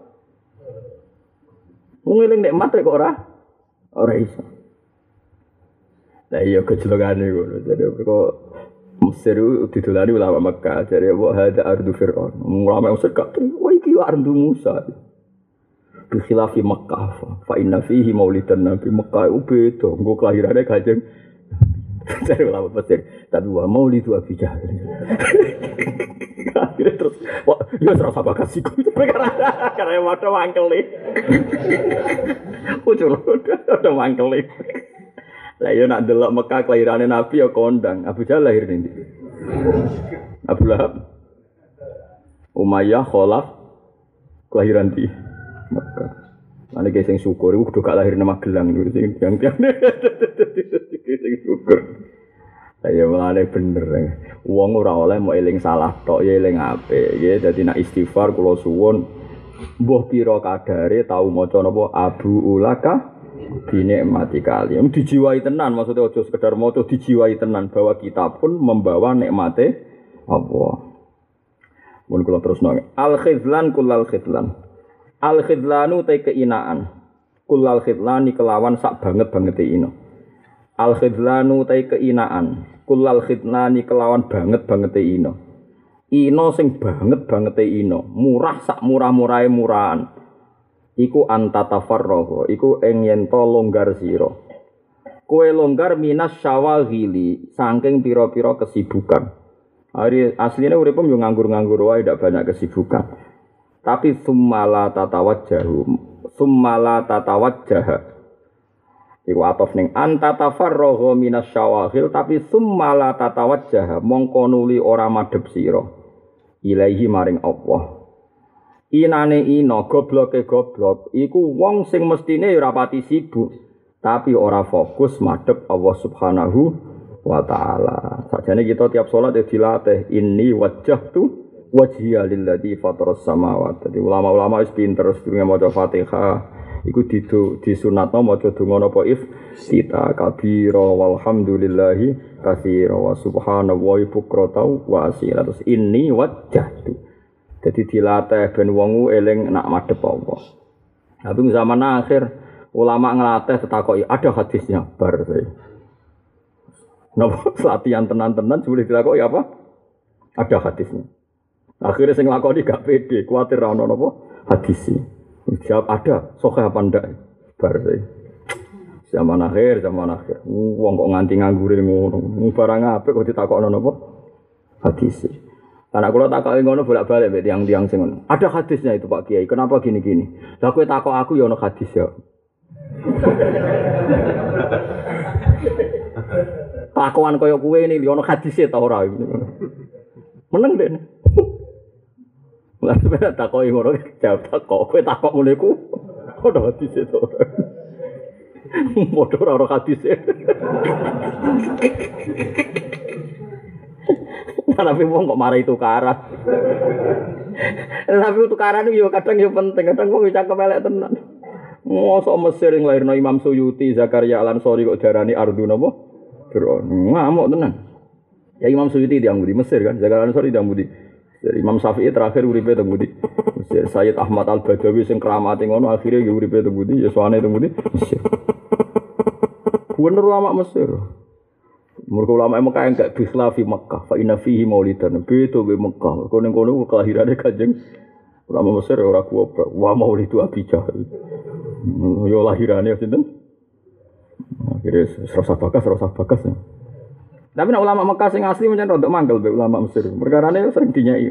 [SPEAKER 2] Wong eling nikmate kok ora iso. Lah iya kecilogane ngono. Jadi kok Mesir didolani ulama Mekah, jadi wa hadza ardu Fir'aun. Ulama Mesir gak wah iki ardu Musa. Bi khilafi Mekah fa inna fihi maulidan Nabi. Mekah beda, nggo kelahirane Kanjeng dari ulama Mesir. Tapi wa maulidu Abi Jahal. Terus wah, yo serasa bakasiku. Karena wadah mangkel iki. Ucul udah mangkel iki. Lah yo nak delok Mekah kelahirane Nabi ya kondang. Abu Jahal lahir ndi? Abu Lahab. Umayyah Khalaf kelahiran di Mekah. Ane ge sing syukur iku kudu gak lahir nang Magelang iku sing tiang-tiang. Sing syukur. Saya mulane bener. Wong ora oleh mau eling salah tok ya eling apik. Nggih dadi nak istighfar kula suwun mbuh pira kadare tau maca napa Abu Ulaka dinikmati kalian dijiwai tenan maksudnya aja sekedar maca dijiwai tenan bahwa kita pun membawa nikmate Allah. Mun kula terusno al khidlan kullal khidlan. Al khidlanu te keinaan. Kullal khidlani kelawan sak banget-bangete ino. Al khidlanu te keinaan. Kullal khidlani kelawan banget-bangete ino. Ino sing banget-bangete ino, murah sak murah-murahe murahan. Iku antatafarroho, iku ing yen to longgar sira. Kowe longgar minas syawagili, saking pira-pira kesibukan. Hari asline uripem yo nganggur-nganggur wae ndak banyak kesibukan. Tapi summala tatawajjahu, summala tatawajjah. Iku atof ning anta tafarragha minas syawaghil tapi summa la tatawajjah mongko nuli ora madhep sira ilaahi maring Allah. Inane ina gobloke goblok iku wong sing mestine ora pati sibuk tapi ora fokus madhep Allah Subhanahu wa taala. Sakjane kita tiap salat dilatih inni wajjahtu wajhiya lilladzi fataras samawati. Jadi ulama-ulama wis pinter sedurunge maca Fatihah iku disunatno maca donga napa iftitah kabira walhamdulillahi katsira wa subhanallahi bukratan wa asila. Terus inni wajjahtu. Jadi dilatih ben wong eling nak madhep Allah. Tapi zaman akhir ulama ngelatih tetakoki ada hadisnya bar saya. Napa latihan tenan-tenan boleh dilakoki apa? Ada hadisnya. Akhirnya sing lakoni gak pede, kuwatir ra ono napa hadisnya. Jawab ada, sok apa ndak? Bar zaman akhir. Wong kok nganti nganggure ngono. Barang apik kok ditakokno napa? Hadis. Karena kula takoki ngono bolak-balik mek tiyang-tiyang sing ngono. Ada hadisnya itu Pak Kiai. Kenapa gini-gini? Lah kowe takok aku ya ono hadis ya. Takokan koyo kowe ini ya ono hadise ta ora? Meneng deh. Lah sampe takoki ngono jawab takok kowe takok ngene iku ono hadise to ora. Modho ora ono hadise. Tapi wong kok marai tukaran. Tapi tukaran yo kadang yo penting, kadang wong cakep elek tenan. Mosok Mesir nglairno Imam Suyuti, Zakaria Al-Ansari kok darani ardu napa? Fir'aun. Ngamuk tenan. Ya Imam Suyuti diang budi Mesir kan, Zakaria Al-Ansari diang budi. Imam Syafi'i terakhir uripe teng budi. Mesir Sayyid Ahmad Al-Badawi sing kramate ngono akhire yo uripe teng budi, ya sowane teng budi Mesir. Bener ulama Mesir. Mergo ulama Mekah enggak bikhlafi Mekah, fa inna fihi maulidan. Beto be Mekah. Mergo ning kono kelahirane Kanjeng ulama Mesir ora kuwabra. Wa maulidu Abi Jahal. Yo lahirane sinten? Akhire serasa bakas. Tapi nek ulama Mekah sing asli mencen rodok mangkel be ulama Mesir. Perkarane sering dinyai.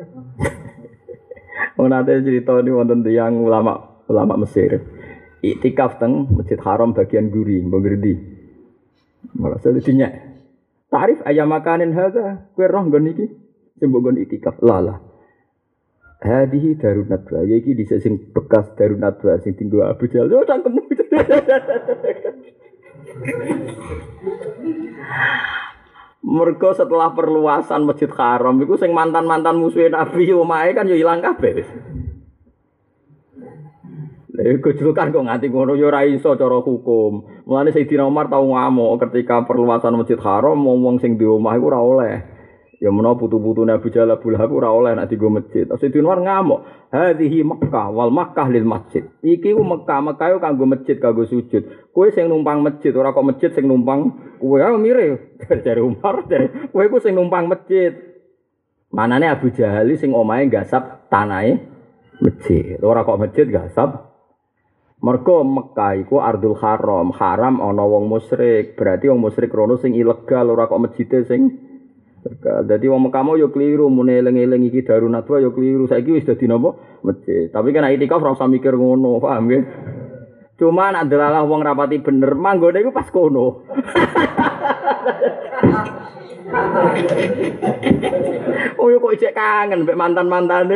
[SPEAKER 2] Ono ate crita ni wonten tiyang ulama Mesir. Iktikaf teng Masjid Haram bagian guri, Mbok malah selitinya. Tarif ayam makanin hadza, kowe roh nggon iki sing mbok nggon itikaf. Lah. Hadihi Darun Nadwa, ya iki dhisik sing bekas Darun Nadwa sing tinggo Abu Jahal. Yo cangkemmu. Mergo setelah perluasan Masjid Haram iku sing mantan-mantan musuhe Nabi omahe kan yo ilang kabeh wis. Gojlokan kok nganti ngono ya ora iso cara hukum. Mulane Sayyidina Umar tau ngamuk ketika perluasan Masjid Haram wong sing di omah iku ora oleh. Ya menawa putu-putune Abu Jahal Abu Lahab ora oleh nek dienggo masjid. Sayyidina Umar ngamuk, "Hadhihi Makkah wal Makkah lil masjid." Iki ku Mekah yo kanggo masjid kanggo sujud. Kowe sing numpang masjid ora kok masjid sing numpang kowe ae mire. Jare Umar, kowe ku sing numpang masjid. Manane Abu Jahal sing omahe gasap tanahe masjid. Ora kok masjid gasap. Mergo Mekah iku Ardul Haram, haram ana wong musyrik. Berarti wong musyrik rono sing ilegal ora kok masjide sing legal. Dadi wong Mekah mau yo kliru mune eling-eling iki Darun Nadwa yo kliru. Saiki wis dadi napa? Masjid. Tapi kan itikaf ora usah mikir ngono, paham nggih? Cuma nek delalah wong rapati bener, manggone iku pas kono. Oh yo kok cek kangen mek mantan-mantane.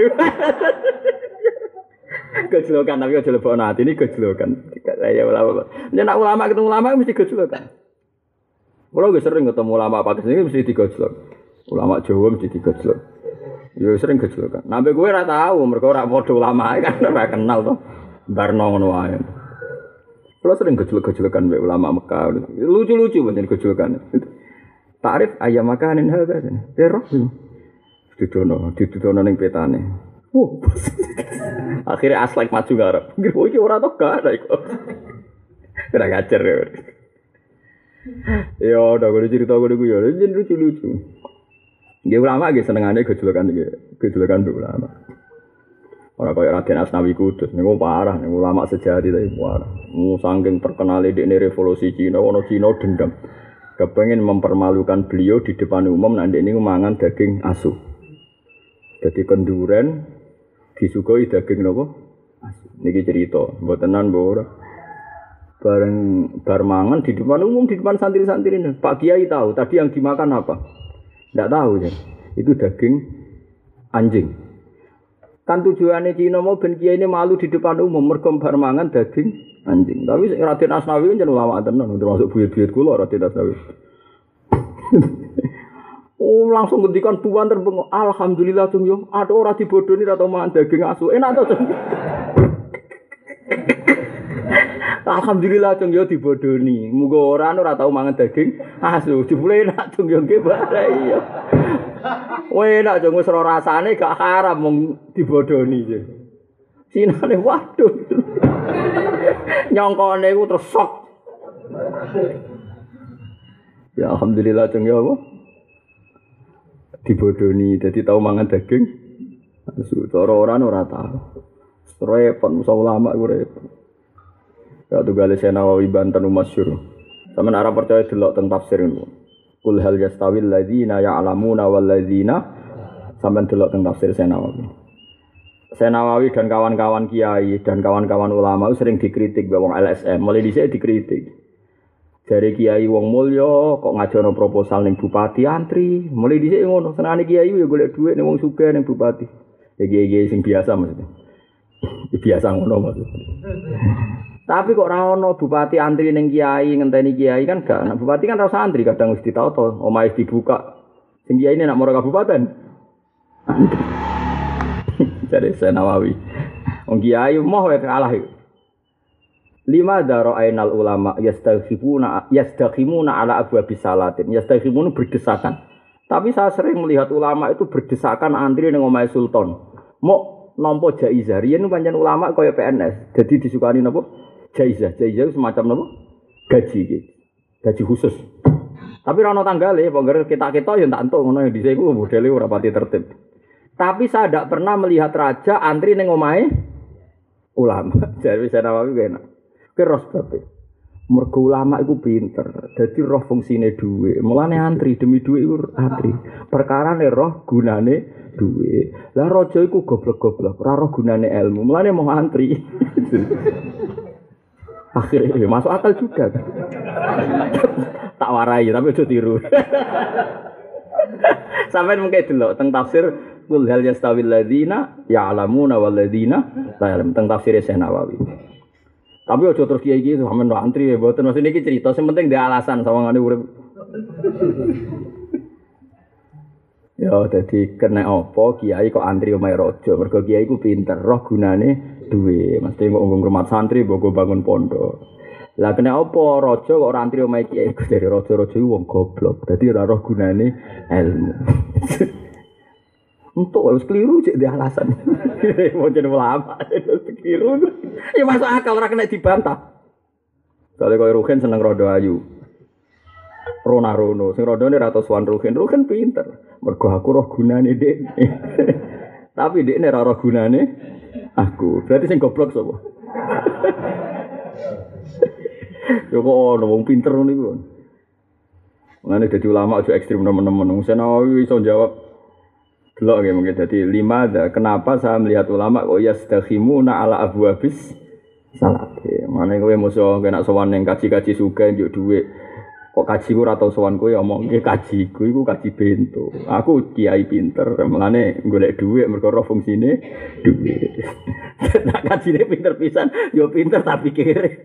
[SPEAKER 2] Gejlokan tapi aja lebokno ati ini gejlokan. Saya ulama. Nek ulama ketemu ulama mesti gejlokan. Kalau gue sering ketemu ulama Pakistan ini mesti digojlok. Ulama Jawa mesti digojlok. Ya sering gejlokan. Nambe gue ora tahu mergo ora padha ulama kan ora kenal to. Barno ngono wae. Kalau sering gejlok-gejlokan mbek ulama Mekah. Lucu-lucu pancen gejlokan. Tarif ayam makanin hadza. Terus didono ning petane. Akhirnya aslek maju ngarep. Oh iki ora tok gak ada iku. Ora ngajar ya. Ya udah gue cerita gue ya, lucu-lucu. Nggih ulama nggih senengane gejolokan iki, gejolokan ulama. Ora kaya Raden Asnawi Kudus niku parah, niku ulama sejati ta parah. Saking terkenal dekne revolusi Cina, ono Cina dendam. Kepengin mempermalukan beliau di depan umum nek niku mangan daging asu. Jadi kenduren disugoi daging napa? Asu. Niki cerita, mboten tenan mbok ora. Bareng bar mangan di depan umum, di depan santri-santri ini. Pak Kiai tahu tadi yang dimakan apa? Enggak tahu ya. Itu daging anjing. Kan tujuannya Cina mau ben Kiai ini malu di depan umum mergo bar mangan daging anjing. Tapi Raden Asnawi kan ulama tenan, termasuk buyut-buyut kula Raden Asnawi. Oh langsung ngendikan tuan terbengok. Alhamdulillah cung yo, ada ora dibodoni atau mangan daging asu. Enak to cung. Alhamdulillah cung yo dibodoni. Muga ora tau mangan daging asu. Jebule enak cung yo nggih bare iya. Wah enak cung wis ora rasane gak haram mung dibodoni iki. Sinane waduh. Nyongkone iku terus sok. Ya alhamdulillah cung yo apa? Dibodoni dadi tau mangan daging asu. Cara ora tau. Repot musa ulama iku repot. Ya tugale Nawawi Banten masyhur. Sampeyan ora percaya delok teng tafsir niku. Qul hal yastawil ladzina ya'lamuna wal ladzina sampeyan delok teng tafsir Nawawi. Nawawi dan kawan-kawan kiai dan kawan-kawan ulama sering dikritik wong LSM, mulai dhisik dikritik. Jare kiai wong mulya kok ngajono proposal ning bupati antri, mulai dhisik ngono. Senengane kiai yo golek dhuwit ning wong sugih ning bupati. Ya kiai sing biasa maksudnya. Biasa ngono maksudnya. Tapi kok ora ono bupati antri ning kiai ngenteni kiai kan gak. Nah, bupati kan ora usah antri kadang wis ditata, omahe dibuka. Sing kiai ini nak moro kabupaten. Jadi Nawawi. Wong kiai moh wae kalah iku. Lima daro ainal ulama yastaghimuna ala abwabis salatin. Yastaghimuna berdesakan. Tapi saya sering melihat ulama itu berdesakan antri ning omahe sultan. Mau nampa jaizah. Riyen pancen ulama kaya PNS. Jadi disukani napa? Jaizah semacam napa? Gaji iki. Gaji khusus. Tapi ora ono tanggale, pokoke kita-kita ya tak entuk ngono ya dhisik iku modele ora pati tertib. Tapi saya tidak pernah melihat raja antri ning omahe ulama. Jadi saya Nawawi enak. Ki ros bae. Mergo ulama iku pinter. Dadi roh fungsine dhuwit. Mulane antri demi dhuwit iku antri. Perkarane roh gunane dhuwit. Lah raja iku goblok-goblok, ora roh gunane ilmu. Mulane mau antri. Akhirnya masuk akal juga. Tak warai tapi aja tiru. Sampai mungkin delok teng tafsir qul hal yastawil ladzina ya'lamuna wal ladzina la ya'lam teng tafsir Nawawi. Tapi aja terus kiai iki sampean antri ya mboten maksud niki cerita sing penting ndek alasan sawangane urip. Ya dadi kena apa kiai kok antri omahe raja mergo kiai iku pinter roh gunane duwe mesti kok ngomong rumah santri mbok bangun pondok. Lah kena apa raja kok ora antri omahe kiai dari raja-raja iku wong goblok. Dadi ora roh gunane ilmu. Untuk wis keliru cek di alasan. Mau jadi ulama keliru. Ya masuk akal ora kena dibantah. Soale koyo Ruhin seneng rodo ayu. Rono, sing rodone ra tau sowan Ruhin pinter. Mergo aku roh gunane dekne. Tapi dekne ra roh gunane aku. Berarti sing goblok sapa? Yo kok ono wong pinter ngono iku. Mane dadi ulama aja ekstrem nemen-nemen. Wong Nawawi iso jawab delok nggih mungkin dadi lima kenapa saya melihat ulama kok yastakhimuna ala abwabis salat. Mane kowe musuh kena sowan ning kaji-kaji sugih njuk dhuwit. Kok kaji ku ora tau sowan kowe omongke kajiku iku kaji bento. Aku kiai pinter, mulane golek dhuwit mergo ora fungsine dhuwit. Nek kajine pinter pisan, yo pinter tak pikir.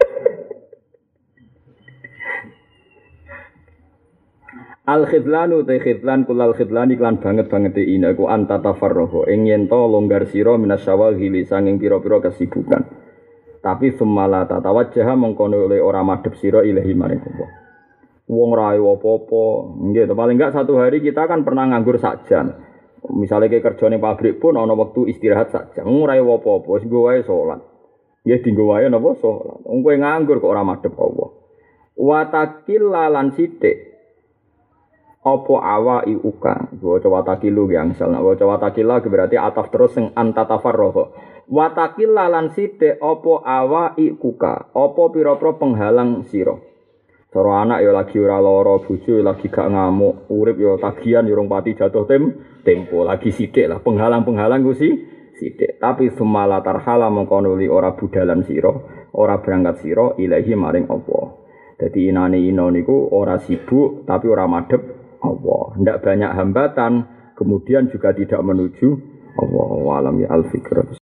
[SPEAKER 2] Al-khidlanu ta khidlan kulal khidlani lan banget ina ku anta tafarruhu ing yen to longgar sira minasyawahili sanging pira-pira kesibukan. Tapi semala tatawajjah mengkono oleh ora madhep sira ilahi maring Allah. Wong ra apa-apa, nggih to paling enggak satu hari kita kan pernah nganggur sak jam. Misale ke kerja ning pabrik pun ana wektu istirahat sak jam. Ora apa-apa, wis nggo wae salat. Nggih dinggo wae napa salat. Wong kowe nganggur kok ora madhep Allah. Wa taqillalan sithik apa awai uka waca watakilu yang salah waca watakila berarti ataf terus sing anta tafarroho watakila lan sithik apa awai kuka apa pira-pira penghalang sira cara anak ya lagi ora lara bojo lagi gak ngamuk urip ya tagihan ya rong pati jatuh tempo lagi sithik lah penghalang-penghalang ku sithik. Tapi sumala tarhala mongko nuli ora budalan sira, ora berangkat sira ilahi maring Allah. Dadi inane ino niku ora sibuk tapi ora madhep Allah. Ndak banyak hambatan, kemudian juga tidak menuju Allah. Wa alam ya al-fikr.